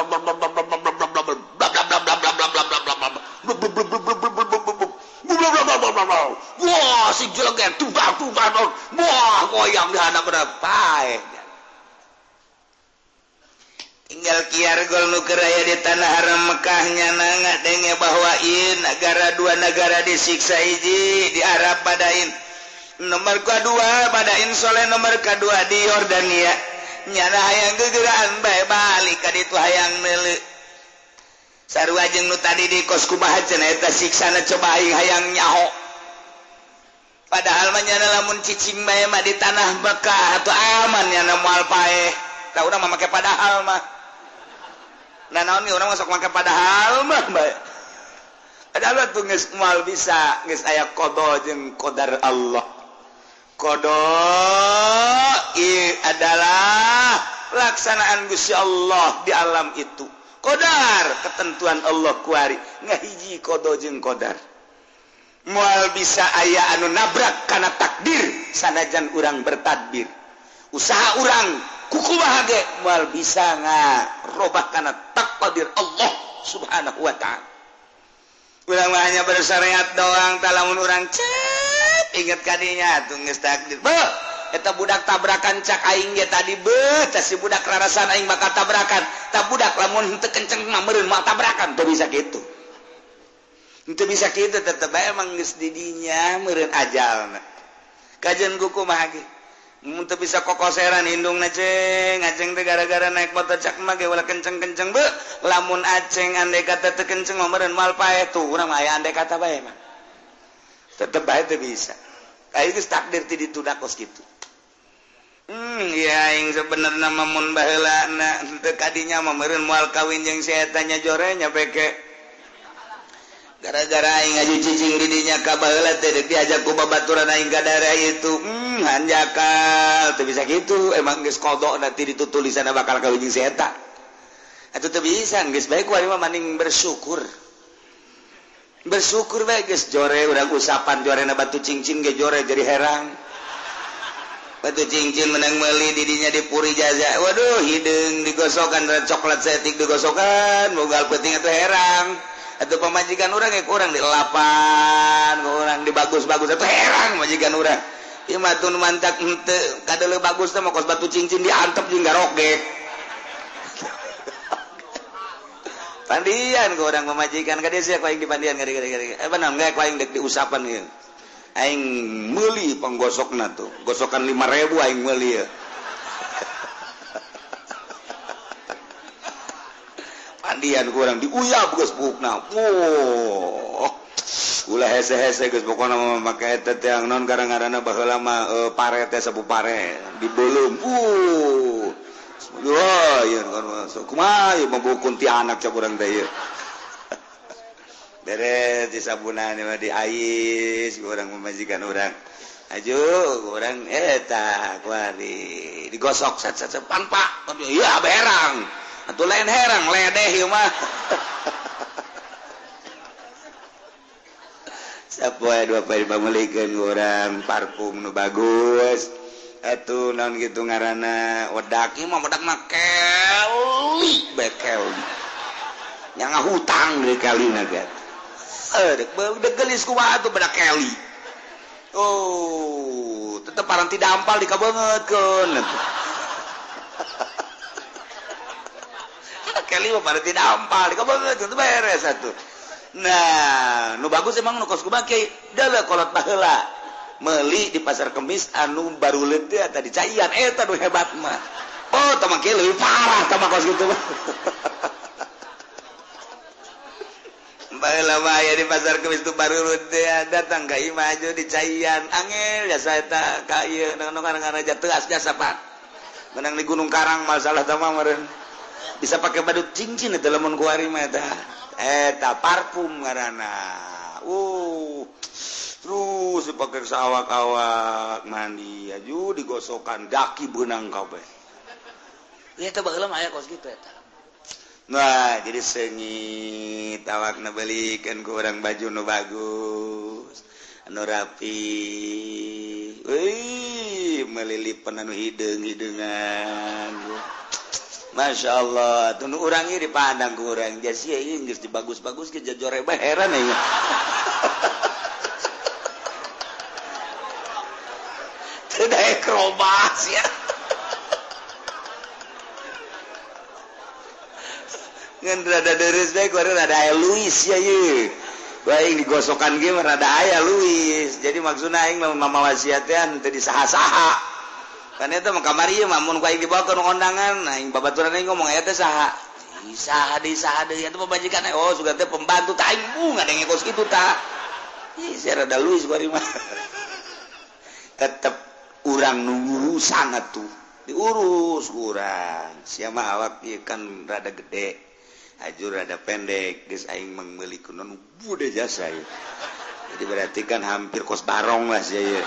wah si jeleger tubang-tubang wah goyang di handap berapa tinggal Kiargol nu keur aya di tanah haram Mekah nyana ngadenge bahwa ieu negara dua negara disiksa hiji di Arab Padain nomor kedua Padain Soleh nomor kedua di Yordania nyana hayang gegeraan bae balik ka ditu hayang neuleuh sarua jeung nu tadi di kos kumaha cenah eta siksana coba aing hayang nyaho padahal mah nyana lamun cicing bae mah di tanah Mekah atuh aman nyana moal paeh da urang mah make padahal mah nah naon ge urang masuk make padahal mah bae padahal tuh geus moal bisa geus aya qada jeung qadar Allah qada i adalah pelaksanaan Gusti Allah di alam itu qadar ketentuan Allah kuari ngahiji qada jeung qadar moal bisa aya anu nabrak kana takdir sanajan urang bertadbir usaha urang kukumaha ge moal bisa ngarobah kana takdir Allah subhanahu wa ta'ala urang mah hanya bersyariat doang talamun urang cep inget kadinya atuh geus takdir beuh eta budak tabrakan cak aing ge tadi beuh teh si budak rarasan aing bakal tabrakan tah budak lamun teu kenceng mah meureun moal tabrakan teu bisa kitu teu bisa kitu tetep bae emang geus di dinya meureun ajalna kajeun kukumaha ge mun teu bisa kokoseran hindungna ceng aceng teh gara-gara naik motor cak mah ge ulah kenceng-kenceng beuh lamun aceng andai kata teu kenceng mah meureun moal paeh tuh urang mah aya andai kata bae mah tetep bae teu bisa kayak geus takdir ti ditunda kos kitu. Hmm, ya aing sebenarnya mun baheula na teu kadinya mah meureun moal kawin jeung si eta nya jore nya peke. Gara-gara aing ngaju cicing di dinya ka baheula teh deuk diajak ku babaturan aing ka daerah itu. Hmm, hanjakal teu bisa kitu, emang geus kodok nanti di tulisanna bakal kawin jeung si eta. Atuh teu bisa, geus bae ku ari mah mending bersyukur. Bersyukur bae geus jore urang usapan jorena batu cincin ge jore jadi herang. Batu cincin menang meuli didinya dipuri jaza waduh hideung digosokan coklat setik digosokan bogal peuting atuh herang atuh pamajikan urang ge kurang dilelapan kurang dibagus-bagus atuh herang majikan urang ieu mah tun mantak henteu kadeuleuk bagus teh mah kos batu cincin diantep jeung garogek pandian ku urang pamajikan ka dieu sia ku aing dipandian gade-gade eh benar enggak ku aing dek diusapan ieu aing meuli penggosokna tuh gosokan lima ribu aing meuli ya pandian kurang diuyap geus pupukna oh ulah hese-hese geus pokona mah make eta teh naon garang-garana baheula mah e, pare teh sabu pare dibeulem uh wah yeun kan kumaha ieu membukun ti anak cak urang teh ieu beres di sabunan mah di ais urang memajikan urang aju urang eta kuari digosok sat-sat pan pak tapi ieu berang atuh lain herang ledeh ieu mah sapoe dua poe pamulikeun urang parfum nu bagus atuh naon kitu ngaranna wedak ieu mah wedak mah keli bekel nya ngahutang deui kalina kan eh dek gelis kumaha atuh bedak keli oh tetep parang ti dampal dikabeungeutkeun kali mah pada tidak ampal di kabar itu beres satu. Nah nu bagus emang nu kos kumaha kiai dalah kolot baheula meuli di pasar kemis anu baruleut teh eta di Caian eta nu hebat mah oh tah mah kieu leuwih parah tah mah kos kitu mah baheula mah aya di pasar kemis tu baruleut teh datang ka imah aja di Caian angel jasa eta ka ieu nu ngaranna Teas jasa Pak menang di Gunung Karang masalah tah mah meureun bisa pakai badut cincin itu lamun kuari mah eta eta parfum ngaranna uh terus dipakai sawak-awak mandi aju digosokan daki beunang kabeh eta baheula mah aya kos kitu eta nah jadi sengit awakna beulikeun ku urang baju nu bagus anu rapi euy melilipan anu hideung-hideungan Masya Allah tunu urang ieu dipandang ku urang jas ieu geus dibagus-bagus ke jajore bae heran ya teu daek robas ya ngan rada deres bae ku rada aya Luis ya ieu bae digosokan ge rada aya Luis jadi maksudna aing mama wasiatnya teu disaha-saha kan eta mah kamari ieu mah mun ku aing dibawakeun kondangan aing babaturan aing ngomong aya teh saha saha deui saha deui eta pamajikan oh sugan teh pembantu tah aing bu ngadenge kos kitu tah ih saya rada Luis bari mah tetep urang nu urusan atuh diurus urang sia mah awak ieu kan rada gede ajur rada pendek geus aing meulikeun nu bude jasa ieu jadi berarti kan hampir kos barong lah sia ieu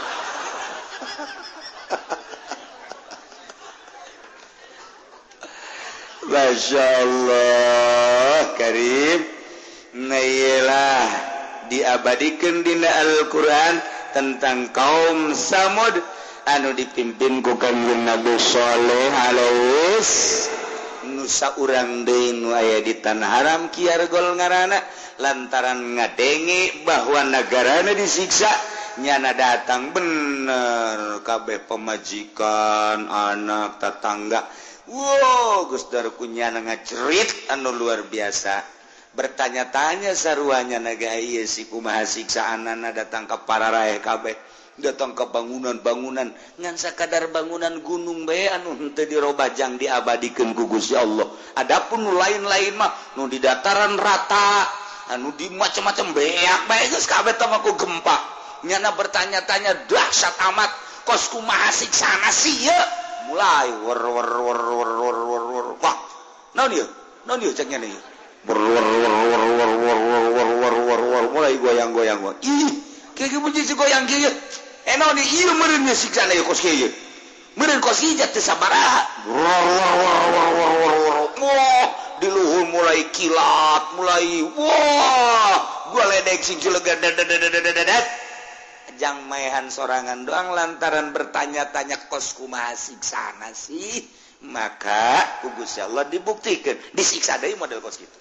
Masya Allah Karim Nailah diabadikan dina Al-Quran tentang kaum Samud anu dipimpin ku kanjeng Nabi Saleh alaihi nusa urang deui nu aya di tanah haram kiargol ngaranna lantaran ngadenge bahwa negarana disiksa nyana datang bener kabeh pemajikan anak tetangga wow Gus Darku nyana ngacerit anu luar biasa bertanya-tanya saruanya naga ieu si kumaha siksaanana datang ka pararae kabeh datang ke bangunan-bangunan ngan sakadar bangunan gunung bae anu henteu dirobajang diabadikeun ku Gusti Allah adapun nu lain-lain mah nu di dataran rata anu di macam-macam beak bae geus kabeh teh mah ku gempa nyana bertanya-tanya dahsyat amat kos kumaha siksana sieun mulai wer wer wer wer wer wer wer wah naon ieu naon ieu cek nyana ieu wer wer wer wer wer wer wer wer wer wer mulai goyang-goyang gua ih kieu ge mun goyang kieu eh naon ieu meureun ieu siksana ieu kos kieu meureun kos ieu teh sabaraha wer wer wer wer wer wer wah di luhur mulai kilat mulai wah gua ledek sing cilegan dedet jang maehan sorangan doang lantaran bertanya-tanya kos kumaha siksana sih maka ku Gusti Allah dibuktikan disiksa deui model kos kitu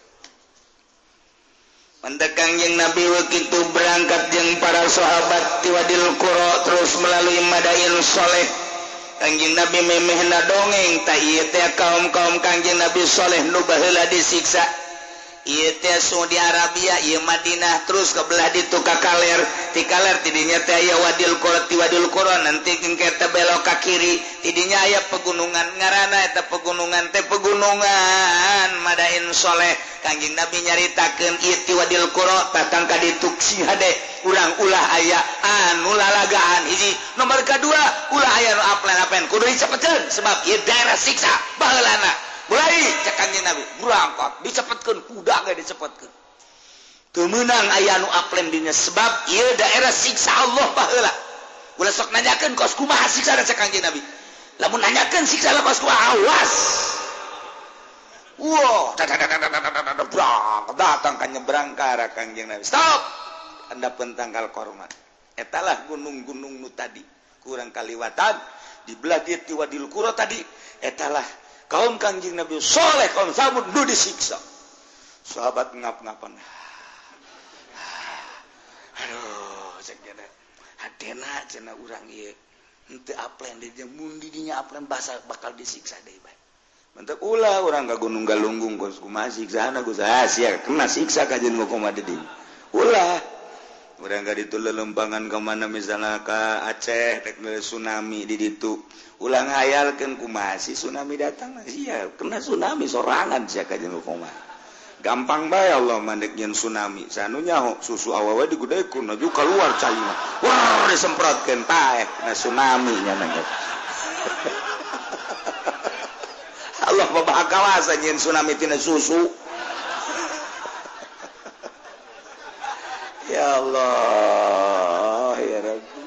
mendekan jeung Nabi wakitu berangkat jeung para sahabat ti Wadil Qura terus melalui Madain Saleh Kangjeng Nabi memehna dongeng ta ieu teh kaum-kaum Kangjeng Nabi Saleh nu baheula disiksa ieu teh Saudi Arabia ieu Madinah terus ke belah ditu ka kaler ti kaler tidinya teh aya Wadil Qura ti Wadil Qura nanti engke teh belok ka kiri tidinya aya pegunungan ngaranna eta pegunungan teh pegunungan Madain Saleh Kangjeng Nabi nyaritakeun ieu ti Wadil Qura datang ka ditu hade urang ulah aya anu lalagaan hiji nomor kadua ulah aya nu aplen-aplen kudu dicepetkeun sebab ieu daerah siksa baheulana mulai cek Kanjeng Nabi berangkat dicepetkeun kuda ge dicepetkeun teu meunang aya anu aplen dinya sebab ieu daerah siksa Allah baheula ulah sok nanyakeun kos kumaha siksa cek Kanjeng Nabi lamun nanyakeun siksa kos kumaha awas wow datang ka nyebrang ka arah Kanjeng Nabi stop anda pentanggal korma etalah gunung-gunung nu tadi kurang kaliwatan di belah dieu ti Wadil Qura tadi etalah kaum Kanjeng Nabi Saleh kaum Samud nu disiksa sahabat ngap-ngapan aduh cek jana hadena cenah urang ieu henteu aplen di mun di dinya aplen basa bakal disiksa deui bae mantap ulah orang ka Gunung Galunggung kos kumaha siksana ku saha sia kena siksa ka jeung kumaha deui ulah urang ka ditu lelempangan ka mana misalna ka Aceh rek tsunami di ditu ulah ngayalkeun kumaha si tsunami datang sia kena tsunami sorangan sia ka jeung kumaha gampang bae Allah mandek nyen tsunami sanunya susu awewe digudekeun aju keluar cai wah disemprotkeun tae na tsunami nya nang Allah babah kawasa nyen tsunami tina susu ya Allah ya Rabbi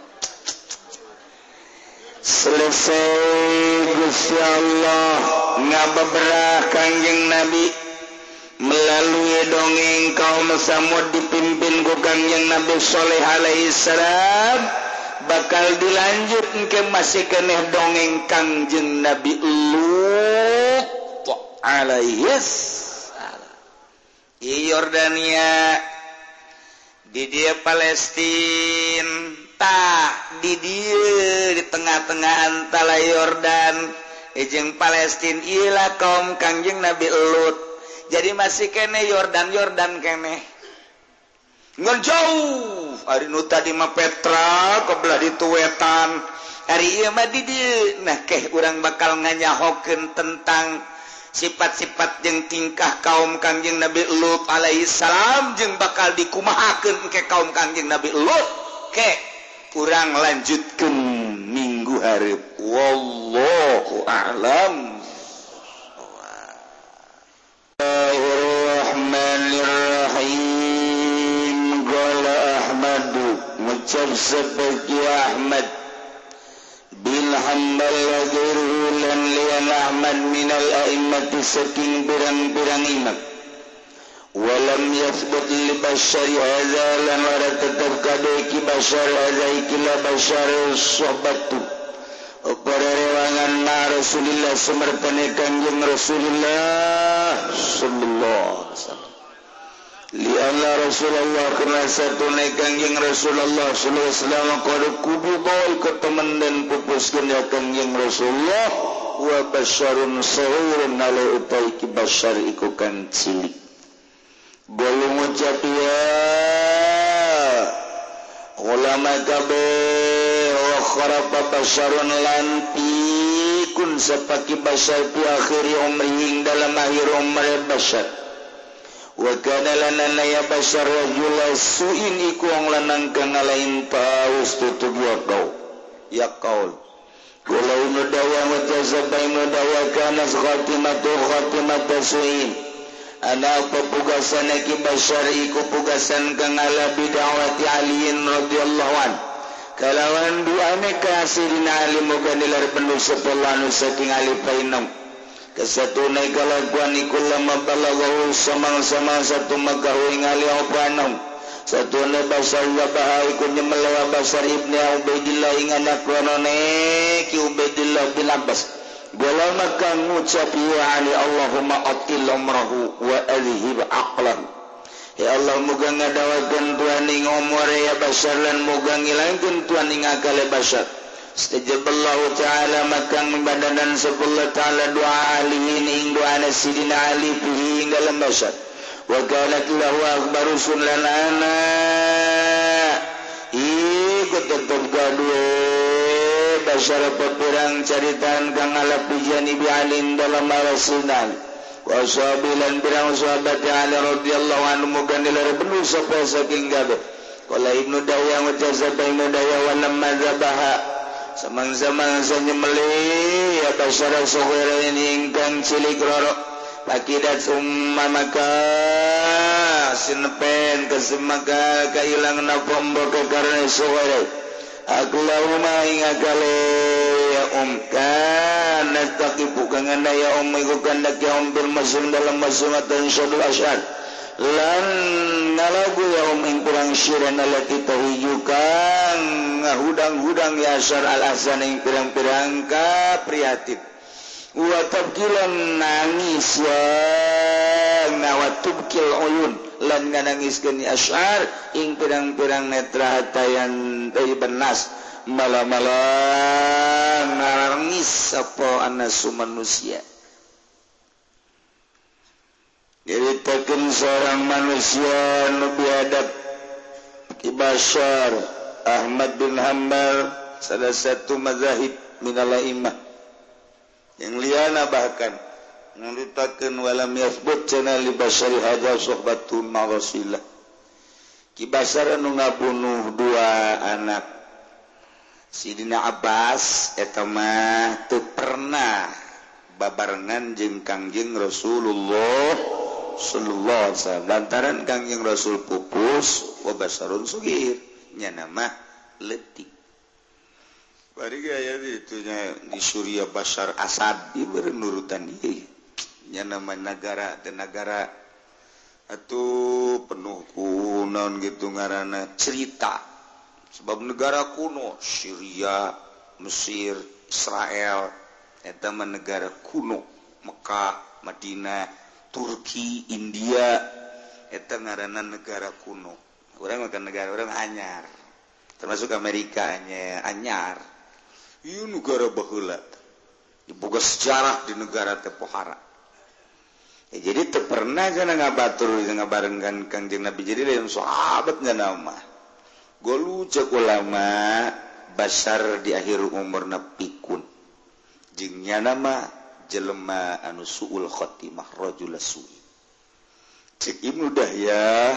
selesai Gusti Allah ngabeberah Kangjeng Nabi melalui dongeng kaum Samud dipimpin ku Kangjeng Nabi Saleh alaihi salam bakal dilanjut ke masih keneh dongeng Kangjeng Nabi Lut alaihi salam di Yordania di dia Palestina tah di dia di tengah-tengah antara Yordan jeung Palestina ilah kaum Kangjeng Nabi Lut jadi masih kene Yordan Yordan kene ngan jauh hari nu tadi mah Petra kebelah di tuwetan hari ieu mah di dieu nah keh urang bakal nganyahokeun tentang sifat-sifat jeung tingkah kaum Kangjeng Nabi Lut alaihi salam jeung bakal dikumahakeun ke kaum Kangjeng Nabi Lut ke urang lanjutkeun minggu hareup wallahu a'lam. Bismillahirrahmanirrahim. Qala Ahmadu ngucap sebagai Ahmad bil hambal lan lian Ahmad minal a'immati saking pirang-pirang imam walam yathbut li basyari hadza lan ora tetep kadeki basyar hadza ikila basyar sohbatu para rewangan na Rasulullah sumertane Kangjeng Rasulullah sallallahu alaihi wasallam li anna Rasulullah kana satune Kangjeng Rasulullah sallallahu alaihi wasallam qad kububa ikut teman dan pupuskeun ya Kangjeng Rasulullah wa basyarun sahirun ala utai ki basyar iku kan cilik bolong ucap ya ulama kabeh wa kharafa basyarun lantikun sepaki basyar fi akhiri umri dalam akhir umri basyar wa kana lana ya basyar rajula su'in iku wong lanang kang lain paus tutup ya kau ya qaul qala inna dawa wa tazabainu dawa kana khatimatu khatimatu su'in ana pepugasan ki basyar iku pugasan kang ala bidawati aliin radhiyallahu an kalawan duane kasirin ali moga nilar penuh sepelanu saking ali painam kesatune kalakuan iku lama balaghu samang-samang satu magawe ngali opanam satune basar wabah iku nyemelewa basar ibni Ubaidillah ing anak ronone ki Ubaidillah bin Abbas bola maka ngucap ya ali Allahumma atil umrahu wa alhib aqlahu ya Allah muga ngadawakeun Tuhan ing umur ya basar lan muga ngilangkeun Tuhan ing akal basar istajaballahu ta'ala maka membadanan sepuluh ta'ala doa alihin ing doa sidina ali fihi ing dalam basar wa kanat lahu akbaru sunlana ikut tetap gaduh basyar pepirang caritaan kang ala pijani bi alim dalam rasulullah wa sahabilan pirang sahabat ali radhiyallahu anhu muga nilar benuh sapa saking kabeh qala ibnu dawya wa jazaba ibnu dawya wa lamma zabaha samang-samang sanyemeli ya basyar saghira ingkang cilik roro pakidat umma maka sinepen kesemaka kailang napombo ke karena saghira Aklahuma ingakale ya um kana taqibu kang anda ya um iku kandak ya um bil masum dalam masumatan syadul asyad lan nalagu ya um ing kurang syiran alati tahijukan ngahudang-hudang ya asyar al-ahsan ing pirang-pirang ka prihatin wa tabkilan nangis ya nawatubkil uyun lan nganangiskeun asyar ing pirang-pirang netra hatayan dari benas malam-malam nangis apa anasu manusia nyaritakeun seorang manusia nu biadab Ki Bashar Ahmad bin Hanbal salah satu mazhab minal a'immah yang liana bahkan nyaritakeun walam yathbut cana li Bashar hadza suhbatun ma Rasulillah Ki Bashar anu ngabunuh dua anak Sidina Abbas eta mah teu pernah babarengan jeung Kangjeng Rasulullah sallallahu alaihi wasallam lantaran Kangjeng Rasul pupus wa basarun sugir nya nama leutik bari aya ditu nya di Suriah Bashar Asad dibere nurutan ieu nya nama negara teh negara atuh penuh ku naon gitu ngaranna cerita sebab negara kuno Syria, Mesir, Israel eta mah negara kuno Mekah, Madinah, Turki, India eta ngaranna negara kuno. Urang mah negara urang anyar. Termasuk Amerika nya anyar. Ieu negara baheula. Boga sejarah di negara teh pohara. Ya, jadi teu pernah cenah ngabatur ngabarengkeun Kangjeng Nabi jadi lain sahabat cenah mah. Golu cek ulama Bashar di akhir umurna pikun. Jeung nya nama jelema anu suul khotimah rajul su'i. Cek Ibnu Dahyah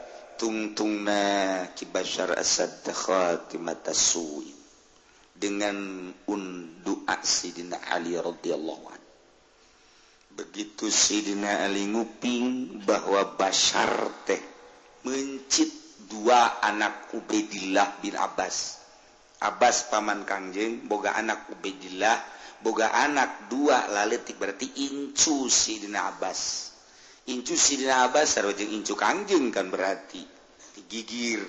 tungtungna Ki Bashar Asad khatimat su'i dengan undua Sidina Ali radhiyallahu anhu. Begitu Sidina Ali nguping bahwa Bashar teh mencit dua anak Ubaidillah bin Abbas. Abbas paman Kangjeng boga anak Ubaidillah, boga anak dua laletik berarti incu Sidina Abbas. Incu Sidina Abbas sareng incu Kangjeng kan berarti digigir.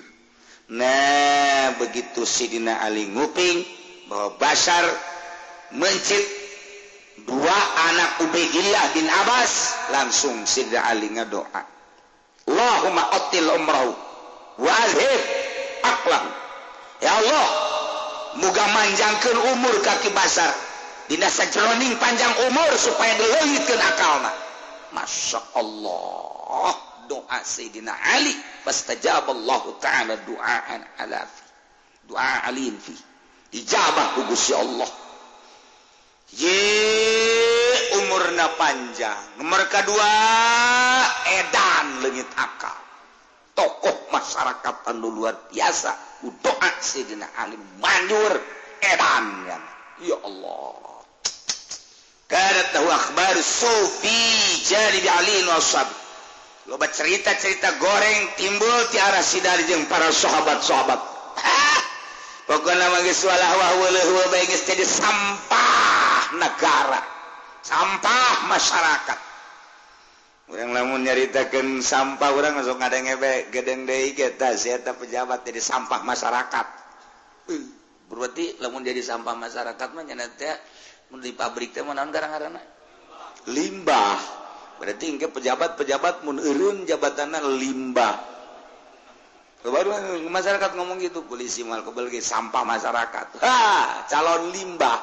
Nah, begitu Sidina Ali nguping bahwa Bashar mencit dua anak Ubaidillah bin Abbas, langsung Sidina Ali ngadoa, Allahumma qatil umrahu wa azhib aqlahu. Ya Allah, muga manjangkeun umur ka Ki Bashar dina sajroning panjang umur supaya dileulitkeun akalna. Masya Allah, doa Sayyidina Ali fastajaballahu ta'ala du'aan alafi du'a alin fi ijabah ku Gusti Allah. Ye umurna panjang. Nomor kedua edan leungit akal. Tokoh masyarakat anu luar biasa. Doa Sayyidina Ali manjur edan ya. Ya Allah. Kana tahu akhbar sufi jadi Ali wa sahab. Loba cerita-cerita goreng timbul ti arah sidari jeung para sahabat-sahabat. Pokokna mah geus walah wa wa bae geus jadi sampah negara, sampah masyarakat. Urang lamun nyaritakeun sampah urang langsung ngadenge bae gedeng deui eta sia eta pejabat jadi sampah masyarakat. Uh, berarti lamun jadi sampah masyarakat mah nya teh mun di pabrik teh mah naon garang-garangna? Limbah. Berarti engke pejabat-pejabat mun eureun jabatanna limbah. Baru masyarakat ngomong gitu, polisi mal kebal ge sampah masyarakat. Ha, calon limbah.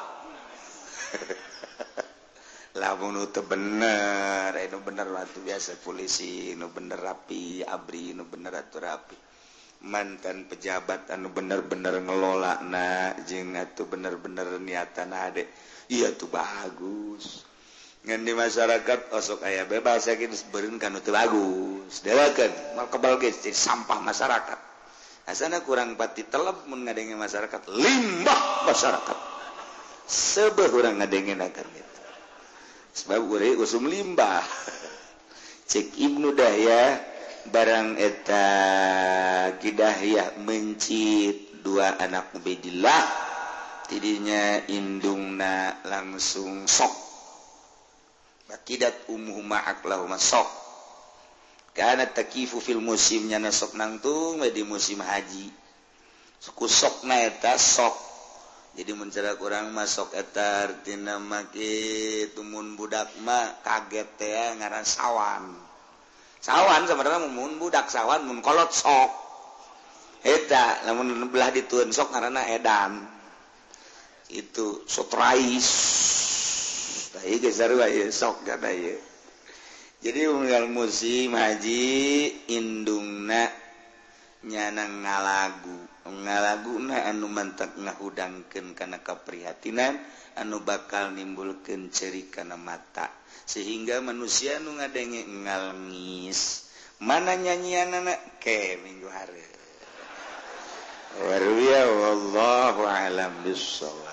Lamun teu bener, anu bener atuh biasa polisi, nu bener rapi, abri nu bener atuh rapi. Mantan pejabat anu bener-bener ngelolana jeung atuh bener-bener niatana ade. Iya tuh bagus. Ngan di masyarakat osok aya bebas saking beureun kan teu bagus. Deweukeun mal kebal ge jadi sampah masyarakat. Asana kurang pati teleb mun ngadenge masyarakat limbah masyarakat. Sebeuh urang ngadengenakeun kitu. Sebab urang usum limbah. Cek Ibnu Dahyah barang eta Ki Dahyah mencit dua anak Ubaidillah tidinya indungna langsung sok. Akidat umuhuma aklahuma sok. Kana takifu fil musimnya nasok nangtung di musim haji. Suku sokna eta sok. Jadi mencerak orang masuk eta artina make tumun budak mah kaget teh ngaran sawan. Sawan sebenarnya mun budak sawan mun kolot sok. Eta lamun belah ditueun sok ngaranna edan. Itu sotrais. Tah ieu geus sarua ieu sok kana ieu. jadi unggal musim haji indungna nyanang ngalagu ngalaguna anu mantak ngahudangkeun kana kaprihatinan anu bakal nimbulkeun ceuri kana mata sehingga manusia nu ngadenge ngalngis mana nyanyianana ke minggu hari. Warwiya wallahu a'lam bissawab.